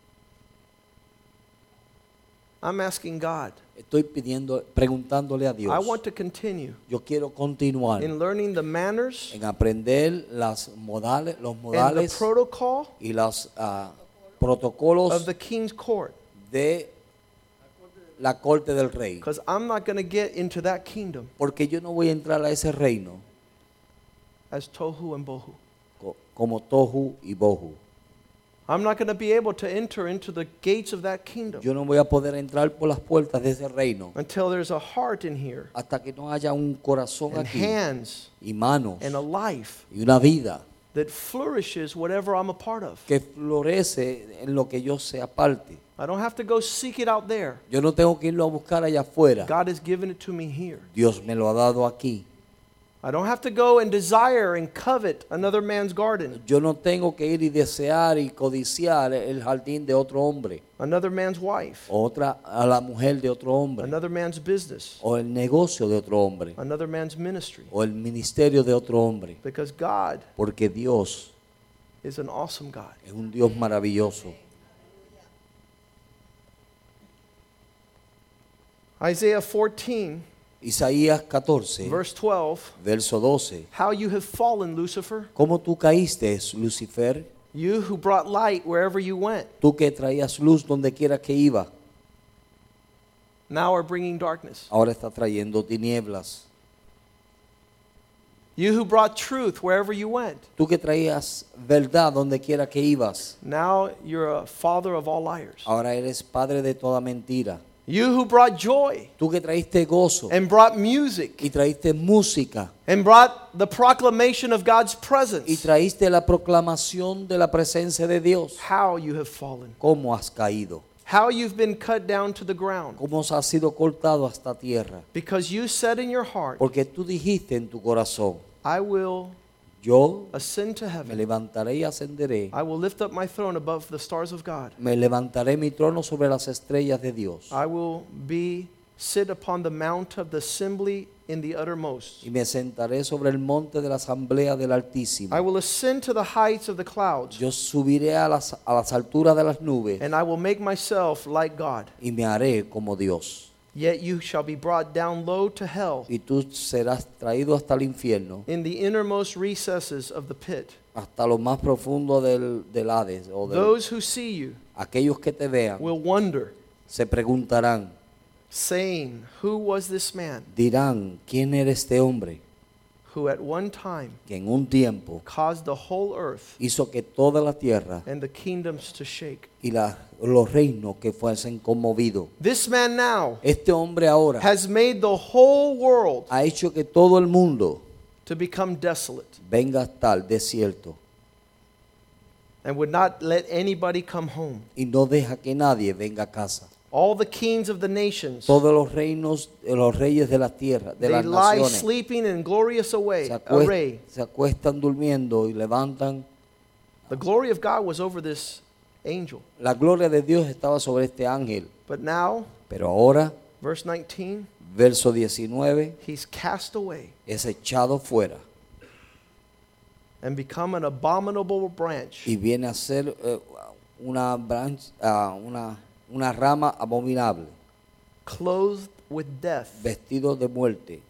I'm asking God. Estoy preguntándole a Dios. I want to continue Yo quiero continuar in learning the manners en aprender los and the modales protocol y los of protocolos the king's court. de la corte del rey. Because I'm not going to get into that kingdom Porque yo no voy a entrar a ese reino as tohu and bohu. como tohu y bohu. I'm not going to be able to enter into the gates of that kingdom Yo no voy a poder entrar por las puertas de ese reino until there's a heart in here hasta que no haya un corazón and aquí hands y manos and a life y una vida that flourishes whatever I'm a part of. que florece en lo que yo sea parte. I don't have to go seek it out there. Yo no tengo que irlo a buscar allá afuera. God has given it to me here. Dios me lo ha dado aquí. I don't have to go and desire and covet another man's garden, Yo no tengo que ir y desear y codiciar el jardín de otro hombre, another man's wife, a la mujer de otro hombre, another man's business, o el negocio de otro hombre, another man's ministry. o el ministerio de otro hombre, Because God porque Dios is an awesome God. es un Dios maravilloso. Isaiah 14, Isaías 14, verse 12. verso 12. How you have fallen, Lucifer, ¿Cómo tú caíste, Lucifer? you who brought light wherever you went, Tú que traías luz donde quiera que iba, now are bringing darkness. ahora está trayendo tinieblas. You who brought truth wherever you went, Tú que traías verdad donde quiera que ibas, now you're a father of all liars. ahora eres padre de toda mentira. You who brought joy Tú que traíste gozo and brought music y traíste música and brought the proclamation of God's y presence, traíste la proclamación de la presencia de Dios, how you have fallen. ¿cómo has caído? How you've been cut down to the ground. ¿Cómo has sido cortado hasta tierra? Because you said in your heart, Porque tú dijiste en tu corazón, I will yo ascend to me heaven. levantaré y ascenderé, I will lift up my throne above the stars of God. me levantaré mi trono sobre las estrellas de Dios I will sit upon the mount of the assembly in the uttermost. y me sentaré sobre el monte de la asamblea del Altísimo. I will ascend to the heights of the clouds, Yo subiré a las alturas de las nubes and I will make myself like God. y me haré como Dios. Yet you shall be brought down low to hell, Y tú serás traído hasta el infierno, in the innermost recesses of the pit. hasta lo más profundo del Hades. Those who see you Aquellos que te vean will wonder, se preguntarán, saying, who was this man dirán, ¿quién era este hombre who at one time que en un tiempo caused the whole earth hizo que toda la tierra and the kingdoms to shake? y los reinos que fuesen conmovidos? This man now Este hombre ahora has made the whole world ha hecho que todo el mundo to become desolate venga a estar desierto and would not let anybody come home. y no deja que nadie venga a casa. All the kings of the nations, Todos los reinos, los reyes de la tierra, de they las lie naciones, sleeping in glorious se array. se acuestan durmiendo y levantan. The glory of God was over this angel. La gloria de Dios estaba sobre este ángel. But now, Pero ahora, verse 19, verso 19, he's cast away es echado fuera and become an abominable branch, y viene a ser una rama abominable, clothed with death, vestido de muerte,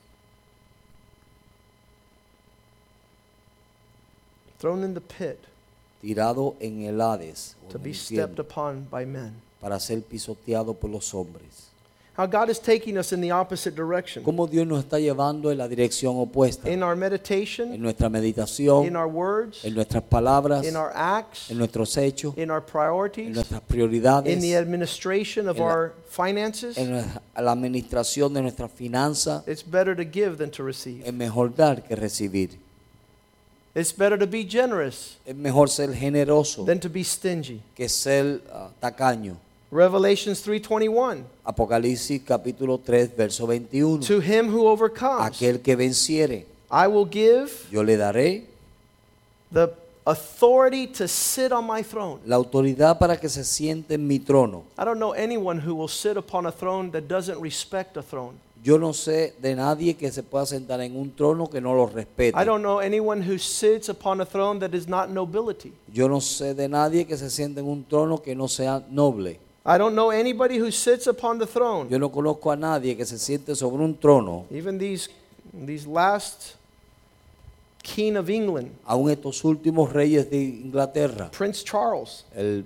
thrown in the pit, tirado en el Hades, o to en be el stepped infierno, upon by men. para ser pisoteado por los hombres. How God is taking us in the opposite direction. Cómo Dios nos está llevando en la dirección opuesta, In our en meditation, nuestra meditación, in our words, en nuestras palabras, in our acts, en nuestros hechos, in our en priorities, nuestras prioridades, in the administration of en la- our finances. en la administración de nuestras finanzas. It's better to give than to receive. Es mejor dar que recibir. It's better to be generous Es mejor ser generoso than to be stingy. que ser tacaño. Revelations 3:21. Apocalipsis capítulo 3, verso 21. To him who overcomes, Aquel que venciere, I will give yo le daré the authority to sit on my throne. la autoridad para que se siente en mi trono. I don't know anyone who will sit upon a throne that doesn't respect a throne. Yo no sé de nadie que se pueda sentar en un trono que no lo respete. I don't know anyone who sits upon a throne that is not nobility. Yo no sé de nadie que se siente en un trono que no sea noble. I don't know anybody who sits upon the throne. Yo no conozco a nadie que se siente sobre un trono. Even these last king of England, Aún estos últimos reyes de Inglaterra, Prince Charles, el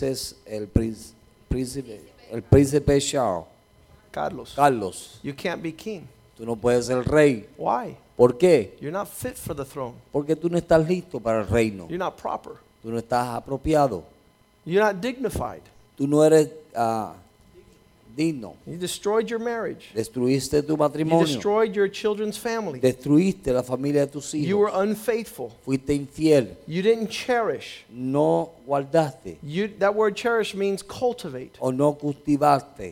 príncipe Charles, Carlos, you can't be king. tú no puedes ser rey. Why? ¿Por qué? You're not fit for the throne. Porque tú no estás listo para el reino. You're not proper. Tú no estás apropiado. You're not dignified. Tú no eres digno. You destroyed your marriage. Destruiste tu You matrimonio. destroyed your children's family. Destruiste la familia de tus You were hijos. unfaithful. Fuiste infiel. You didn't cherish. No guardaste That word cherish means cultivate. o no cultivaste.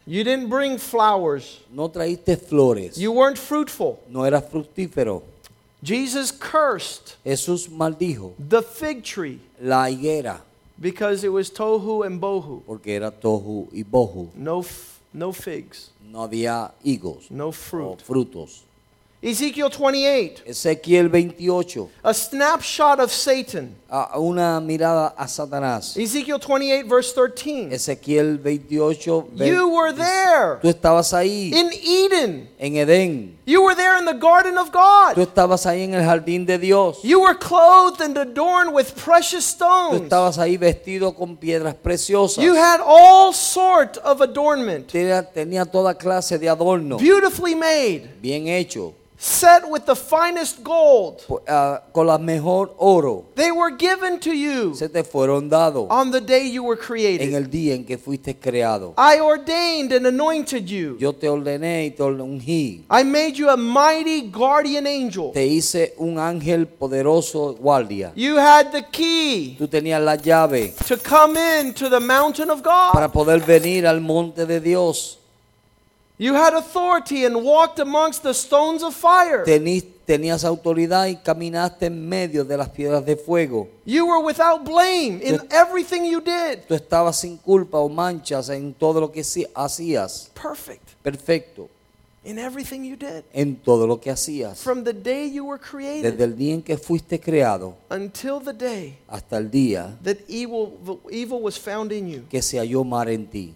You didn't bring flowers. No traíste flores. You weren't fruitful. No eras fructífero. Jesus cursed Jesús maldijo the fig tree la higuera because it was tohu and bohu. porque era tohu y bohu. No figs. No había higos No o fruit. frutos. Ezekiel 28. Ezequiel 28. A snapshot of Satan. Una mirada a Satanás. Ezekiel 28 verse 13. Ezequiel 28. You were there Tú estabas ahí in Eden. en Edén. You were there in the garden of Tú God. estabas ahí en el jardín de Dios. You were clothed and adorned with precious Tú stones. estabas ahí vestido con piedras preciosas. You had all sort of adornment. Tenía toda clase de adorno. Beautifully made. Bien hecho. Set with the finest gold. Con la mejor oro. They were given to you Se te fueron dados on the day you were en created. el día en que fuiste creado. I ordained and anointed you. Yo te ordené y te ungí. I made you a mighty guardian angel. Te hice un ángel poderoso guardia. You had the key Tú tenías la llave to come into the mountain of para God. poder venir al monte de Dios. You had authority and walked amongst the stones of fire. Tenías autoridad y caminaste en medio de las piedras de fuego. You were without blame in everything you did. Tú estabas sin culpa o manchas en todo lo que hacías. Perfect Perfecto in everything you did. en todo lo que hacías. From the day you were created Desde el día en que fuiste creado until the day hasta el día that evil was found in you. que se halló mar en ti.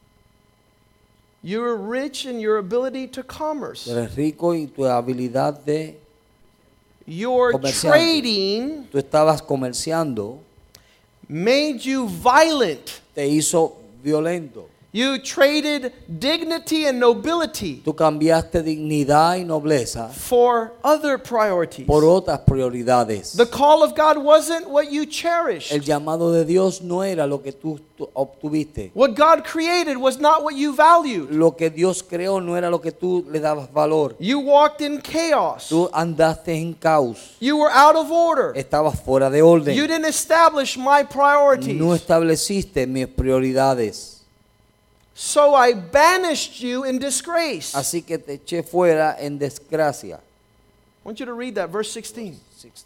You were rich in your ability to commerce. Tú eres rico y tu habilidad de Your comerciante. trading Tú estabas comerciando, made you violent. te hizo violento. You traded dignity and nobility Tú cambiaste dignidad y nobleza for other priorities. por otras prioridades. The call of God wasn't what you cherished. El llamado de Dios no era lo que tú obtuviste. What God created was not what you valued. Lo que Dios creó no era lo que tú le dabas valor. You walked in chaos. Tú andaste en caos. You were out of order. Estabas fuera de orden. You didn't establish my priorities. No estableciste mis prioridades. So I banished you in disgrace. Así que te eché fuera en desgracia. I want you to read that, verse 16.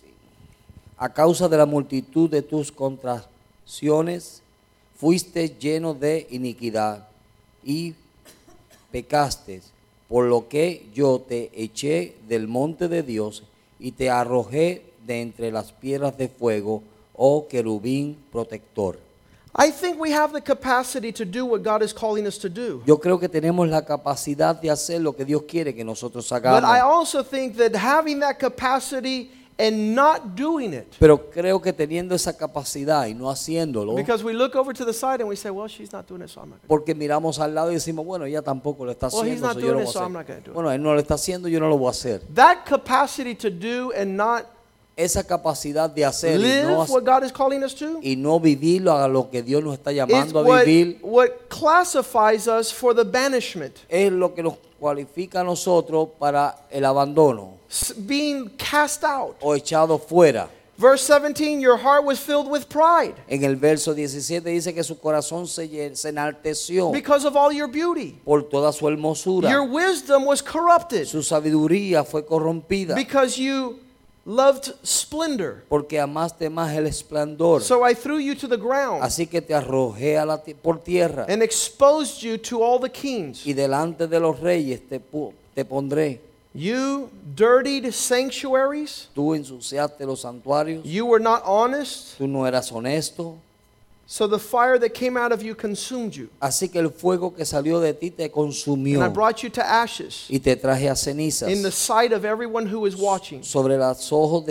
A causa de la multitud de tus contracciones, fuiste lleno de iniquidad y pecaste, por lo que yo te eché del monte de Dios y te arrojé de entre las piedras de fuego, oh querubín protector. I think we have the capacity to do what God is calling us to do. Yo creo que tenemos la capacidad de hacer lo que Dios quiere que nosotros But I hagamos. also think that having that capacity and not doing it, Pero creo que teniendo esa capacidad y no haciéndolo, because we look over to the side and we say, well, she's not doing it, so I'm not going porque miramos al lado y decimos, bueno, ella tampoco lo está Well, he's haciendo, not so yo lo doing voy it, so a I'm not hacer. gonna do it. Bueno, él no lo está haciendo, yo no lo voy a hacer. to. That capacity to do and not Esa capacidad de hacer live what God is calling us to y no vivirlo a lo que Dios nos está is llamando a vivir, what classifies us for the banishment. es lo que nos cualifica a nosotros para el abandono Being cast out. o echado fuera. Verse 17, your heart was filled with pride En el verso 17 dice que su corazón se enalteció because of all your beauty. por toda su hermosura. Your wisdom was corrupted Su sabiduría fue corrompida because you loved splendor. porque amaste más el esplendor. So I threw you to the ground Así que te arrojé por tierra and exposed you to all the kings. y delante de los reyes te pondré. You dirtied sanctuaries. Tú ensuciaste los santuarios. You were not honest. Tú no eras honesto. So the fire that came out of you consumed you. Así que el fuego que salió de ti te And I consumió brought you to ashes y te traje a cenizas in the sight of everyone who is watching. sobre los ojos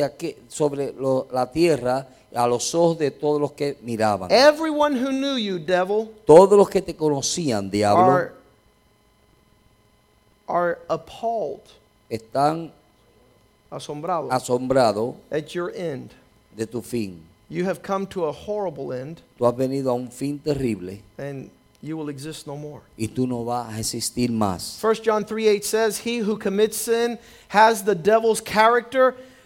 la tierra, a los ojos de todos los que miraban. Everyone who knew you, devil, Todos los que te conocían, diablo, are appalled, están asombrados asombrados at your end. de tu fin. You have come to a horrible end, Tú has venido a un fin terrible and you will exist no more. y tú no vas a existir más. 1 John 3:8 says, he who commits sin has the devil's character.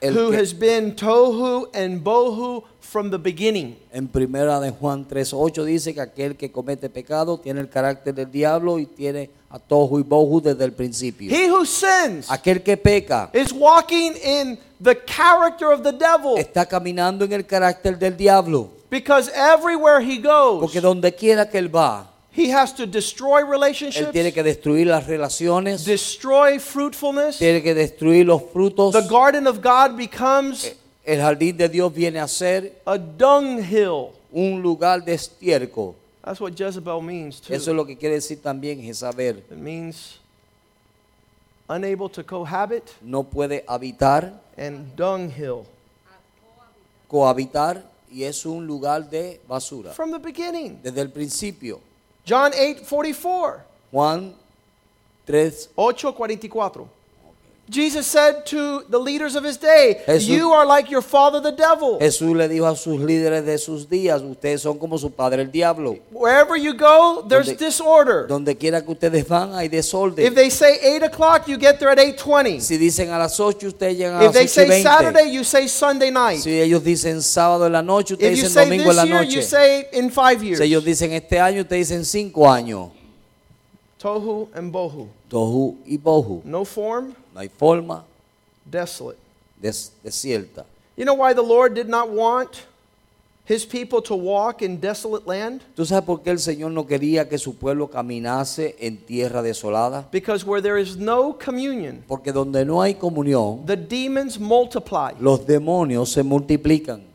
El who que- has been tohu and bohu from the beginning. En primera de Juan 3:8 dice que aquel que comete pecado tiene el carácter del diablo y tiene a tohu y bohu desde el principio. He who sins Aquel que peca is walking in the character of the devil, está caminando en el carácter del diablo, because everywhere he goes, porque donde quiera que él va, he has to destroy él relationships, tiene que destruir las relaciones, destroy fruitfulness. tiene que destruir los frutos. The garden of God becomes El jardín de Dios viene a ser a dunghill. un lugar de estiércol. That's what Jezebel means too. Eso es lo que quiere decir también Jezabel. It means unable to cohabit No puede habitar, and dunghill. cohabitar, y es un lugar de basura. From the beginning. Desde el principio. John 8:44. Juan 3, 8:44. Jesus said to the leaders of his day, Jesús- you are like your father the devil. Jesús le dijo a sus líderes de sus días, ustedes son como su padre el diablo. Wherever you go, there's Donde- disorder. Donde quiera que ustedes van hay If desorden. they say 8 o'clock, you get there at 8:20. Si dicen a las 8, ustedes llegan a If las they 8:20. say Saturday, you say Sunday night. Si ellos dicen sábado en la noche, ustedes If you dicen say domingo en la this year, noche. you say in 5 years. Si ellos dicen este año, ustedes dicen 5 años. Tohu and bohu. Tohu y bohu. No form, No hay forma, desolate. desierta. You know why the Lord did not want his people to walk in desolate land? ¿Tú sabes por qué el Señor no quería que su pueblo caminase en tierra desolada? Because where there is no communion, Porque donde no hay comunión, the demons multiply. los demonios se multiplican.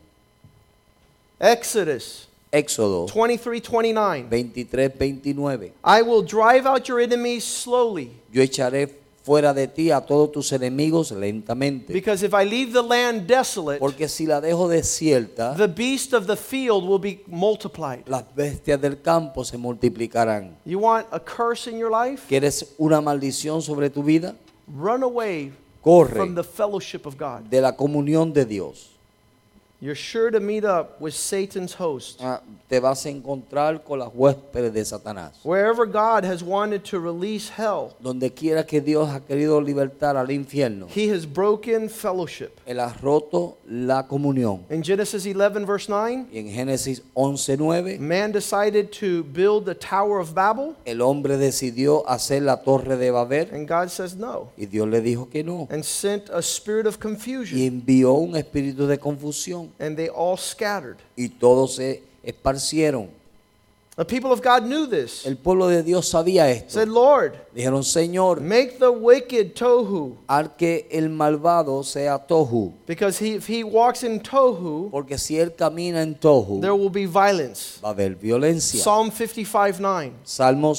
Exodus Éxodo 23:29. 23:29. I will drive out your enemies slowly, Yo echaré fuera de ti a todos tus enemigos lentamente. because if I leave the land desolate, Porque si la dejo desierta, the beast of the field will be multiplied. las bestias del campo se multiplicarán. You want a curse in your life? ¿Quieres una maldición sobre tu vida? Run away Corre from the fellowship of God. de la comunión de Dios. You're sure to meet up with Satan's host. Te vas a encontrar con las huéspedes de Satanás. Wherever God has wanted to release hell, Donde quiera que Dios ha querido libertar al infierno, he has broken fellowship. Él ha roto la comunión. In Genesis 11, verse 9, Y en Génesis 11:9, man decided to build the Tower of Babel, el hombre decidió hacer la torre de Babel and God says no, y Dios le dijo que no. and sent a spirit of Y confusion, envió un espíritu de confusión and they all scattered. y todos se esparcieron. The people of God knew this. El pueblo de Dios sabía esto. Said, Lord, Dijeron, Señor, make the wicked tohu, al que el malvado sea tohu, because if he walks in tohu, porque si él camina en tohu, there will be violence. va a haber violencia. Psalm 55:9. Salmo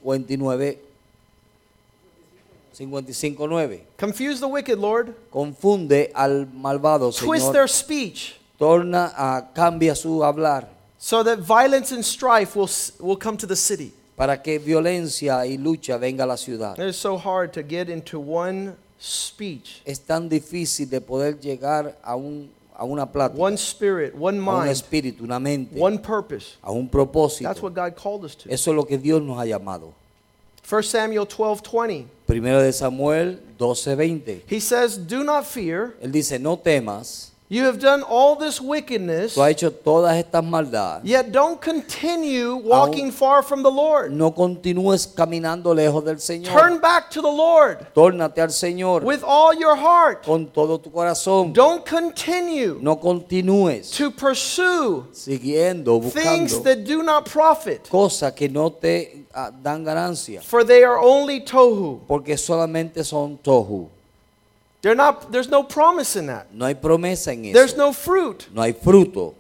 55:9. Confuse the wicked, Lord. Confunde al malvado, Twist Señor. their speech, Cambia su hablar so that violence and strife will come to the city. para que violencia y lucha venga a la ciudad. It is so hard to get into one speech, Es tan difícil de poder llegar a una plática, one spirit, one a un mind, espíritu, una mente, one purpose. a un propósito. That's what God called us to. Eso es lo que Dios nos ha llamado. 1 Samuel 12:20. Primero de Samuel 12:20. He says, "Do not fear. Él dice, no temas, You have done all this wickedness, tú has hecho todas estas maldades. yet don't continue walking far from the Lord. No continúes caminando lejos del Señor. Turn back to the Lord Tórnate al Señor with all your heart. con todo tu corazón. Don't continue No continúes to pursue siguiendo, things buscando that do not profit, cosas que no te dan ganancia, for they are only tohu." porque solamente son tohu. There's no promise in that. No hay promesa en There's eso. no fruit. No hay fruto.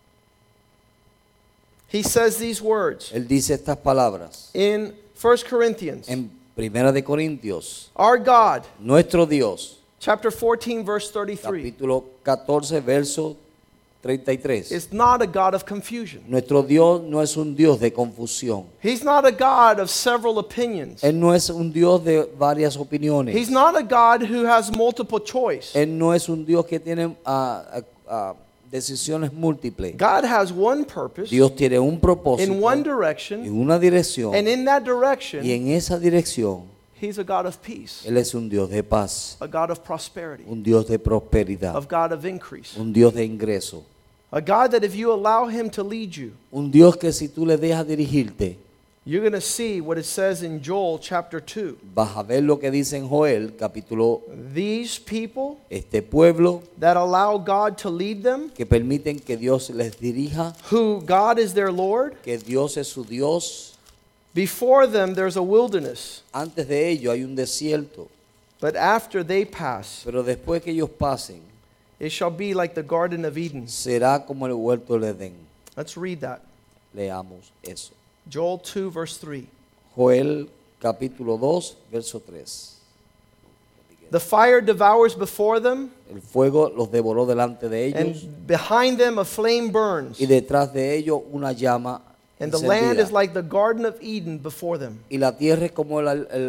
He says these words Él dice estas palabras in 1 Corinthians. en Primera de Corintios. Our God, Nuestro Dios, chapter 14, verse 33, capítulo 14, verso 33. is not a God of confusion. Nuestro Dios no es un Dios de confusión. He's not a God of several opinions. Él no es un Dios de varias opiniones. He's not a God who has multiple choice. Él no es un Dios que tiene decisiones múltiples. God has one purpose Dios tiene un propósito in one en direction, una dirección, and in that direction, y en esa dirección He's a God of peace, Él es un Dios de paz, a God of prosperity, un Dios de prosperidad, of God of increase. un Dios de ingreso, A God that if you allow Him to lead you, un Dios que si tú le dejas dirigirte, you're going to see what it says in Joel chapter 2. vas a ver lo que dice en Joel, capítulo, These people este pueblo that allow God to lead them, que permiten que Dios les dirija, who God is their Lord, que Dios es su Dios. before them there's a wilderness, Antes de ello hay un desierto, but after they pass, pero después que ellos pasen, it shall be like the Garden of Eden. será como el huerto del Edén. Let's read that. Leamos eso. Joel 2 verse 3. Joel capítulo 2, verso 3. The fire devours before them, El fuego los devoró delante de ellos and behind them a flame burns. y detrás de ellos una llama And the land encendida. is like the Garden of Eden before them. Y la tierra es como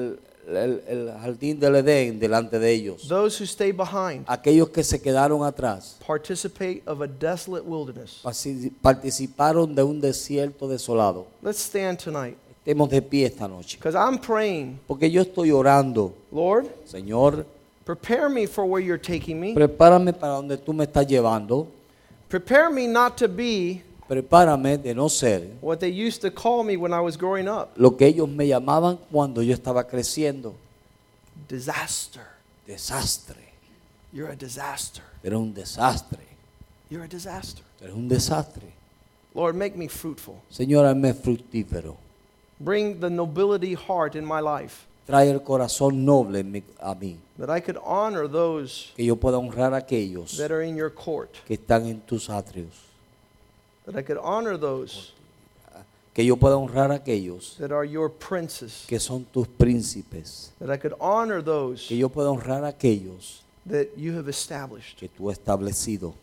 el jardín del Edén delante de ellos. Those who stay behind Aquellos que se quedaron atrás participate of a desolate wilderness. participaron de un desierto desolado. Let's stand tonight, Estemos de pie esta noche. because I'm praying, Porque yo estoy orando, Lord, Señor, prepare me for where you're taking me. prepárame para donde tú me estás llevando. Prepare me not to be Prepárame de no ser what they used to call me when I was growing up. lo que ellos me llamaban cuando yo estaba creciendo. Disaster. Desastre. You're a disaster. Era un desastre. You're a disaster. Era un desastre. Lord, make me fruitful. Señor, hazme fructífero. Bring the nobility heart in my life, Trae el corazón noble a mí. that I could honor those Que yo pueda honrar a aquellos that are in your court, que están en tus atrios. that I could honor those Que yo pueda honrar a aquellos that are your princes, que son tus príncipes. that I could honor those Que yo pueda honrar a aquellos that you have established. que tú has establecido.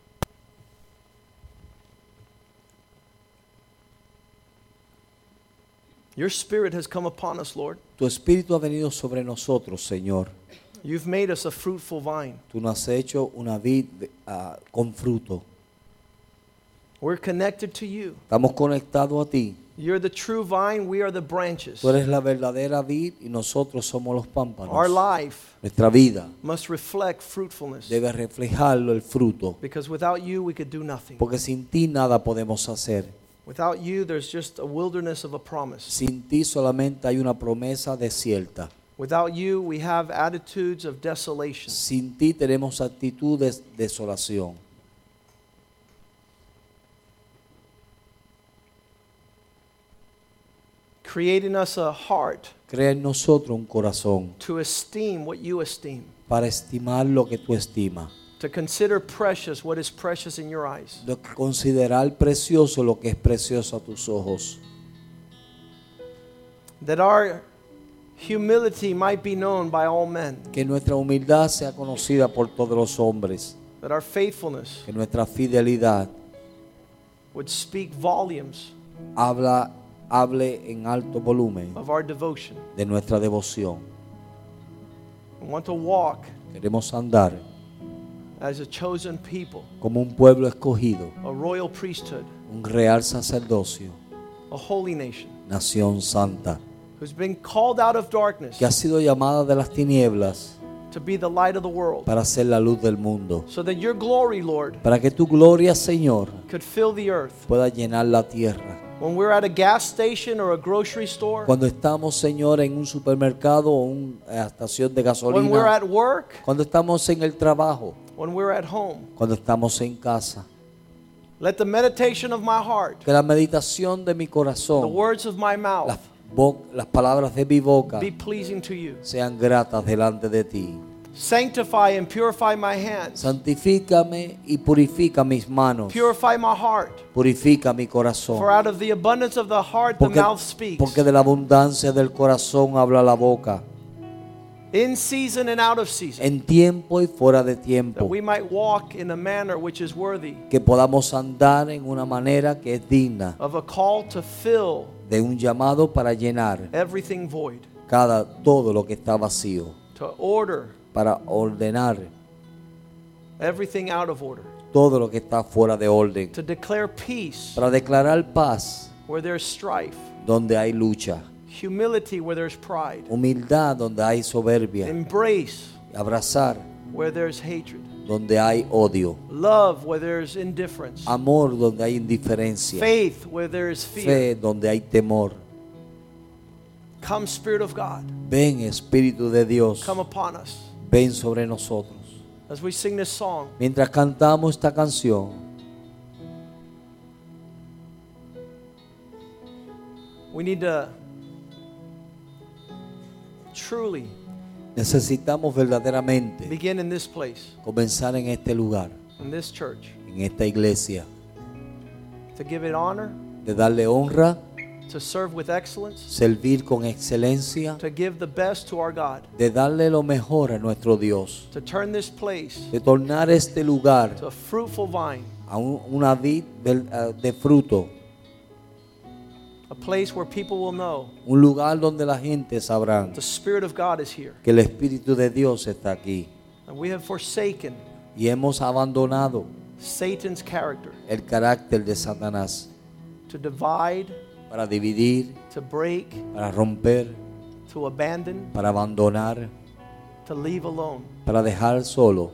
Your spirit has come upon us, Lord. Tu espíritu ha venido sobre nosotros, Señor. You've made us a fruitful vine. Tú nos has hecho una vid con fruto. We're connected to you. Estamos conectados a ti. You're the true vine, we are the branches. Tú eres la verdadera vid y nosotros somos los pámpanos. Our life Nuestra vida must reflect fruitfulness, debe reflejarlo el fruto. because without you we could do nothing. Porque sin ti nada podemos hacer. Without you there's just a wilderness of a promise. Sin ti solamente hay una promesa desierta. Without you we have attitudes of desolation. Sin ti tenemos actitudes de desolación. Creating us a heart Crea en nosotros un corazón to esteem what you esteem, para estimar lo que tú estimas. to consider precious what is precious in your eyes. De considerar precioso lo que es precioso a tus ojos. That our humility might be known by all men. Que nuestra humildad sea conocida por todos los hombres. That our faithfulness Que nuestra fidelidad would speak volumes hable en alto volumen of our devotion. de nuestra devoción. We want to walk Queremos andar as a chosen people, como un pueblo escogido, a royal priesthood, un real sacerdocio, a holy nation, nación santa, who's been called out of darkness que ha sido llamada de las tinieblas to be the light of the world, para ser la luz del mundo. so that your glory, Lord, Para que tu gloria, Señor, could fill the earth. pueda llenar la tierra. When we're at a gas station or a grocery store, Cuando estamos, Señor, en un supermercado o una estación de when we're gasolina, at work, cuando estamos en el trabajo, when we're at home, cuando estamos en casa, let the meditation of my heart, que la meditación de mi the corazón, words of my mouth las palabras de mi boca be pleasing to you. sean gratas delante de ti. Sanctify and purify my hands. Santifícame y purifica mis manos. Purify my heart. Purifica mi corazón. For out of the abundance of the heart the mouth speaks. Porque de la abundancia del corazón habla la boca. In season and out of season. En tiempo y fuera de That tiempo. we might walk in a manner which is worthy Que podamos andar en una manera que es digna of a call to fill de un llamado para llenar everything void. todo lo que está vacío. To order Para ordenar everything out of order. todo lo que está fuera de orden. To declare peace Para declarar paz where there's strife. donde hay lucha. Humility where there's pride. Humildad donde hay soberbia. Embrace Abrazar where there's hatred. donde hay odio. Love where there's indifference. Amor donde hay indiferencia. Faith where there is fear. Fe donde hay temor. Come, Spirit of God. Ven, Espíritu de Dios. Come upon us. Ven sobre nosotros. As we sing this song, Mientras cantamos esta canción, we need to truly necesitamos verdaderamente begin in this place, comenzar en este lugar, in this church, en esta iglesia, to give it honor, de darle honra, to serve with excellence, servir con excelencia, to give the best to our God, de darle lo mejor a nuestro Dios, to turn this place de tornar este lugar to a fruitful vine, a una vid de fruto, a place where people will know un lugar donde la gente sabrá the Spirit of God is here. que el Espíritu de Dios está aquí. And we have forsaken Y hemos abandonado Satan's character el carácter de Satanás to divide, para dividir, to break, para romper, to abandon, para abandonar, to leave alone. para dejar solo.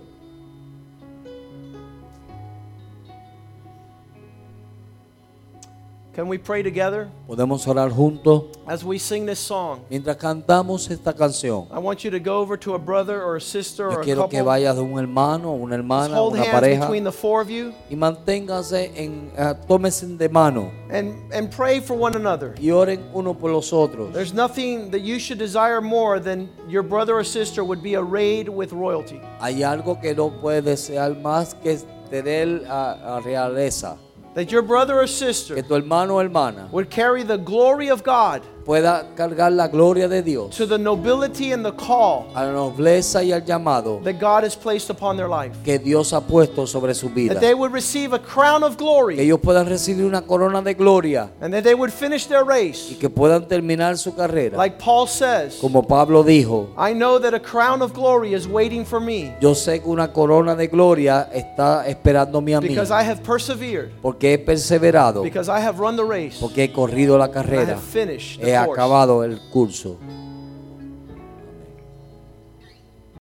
Can we pray together Podemos orar juntos as we sing this song? mientras cantamos esta canción. I want you to go over to a brother or a sister Yo or a quiero que couple. vayas de un hermano, una Just hermana, hold una hands pareja between the four of you y manténganse tómense de mano and pray for one another. y oren uno por los otros. There's nothing that you should desire more than your brother or sister would be arrayed with royalty. Hay algo que no puedes desear más que tener a realeza, That your brother or que sister tu hermano o hermana would carry the glory of God pueda cargar la gloria de Dios to the nobility and the call a la nobleza y al llamado that God has placed upon their life. que Dios ha puesto sobre su vida. That they would receive a crown of Que glory ellos puedan recibir una corona de gloria and that they would finish their y race. que puedan terminar su carrera. Like Paul says, Como Pablo dijo, I know that a crown of glory is waiting for me yo sé que una corona de gloria está esperándome a mí because I have persevered, porque he perseverado, because I have run the race, porque he corrido la I carrera, have finished he the course. acabado el curso.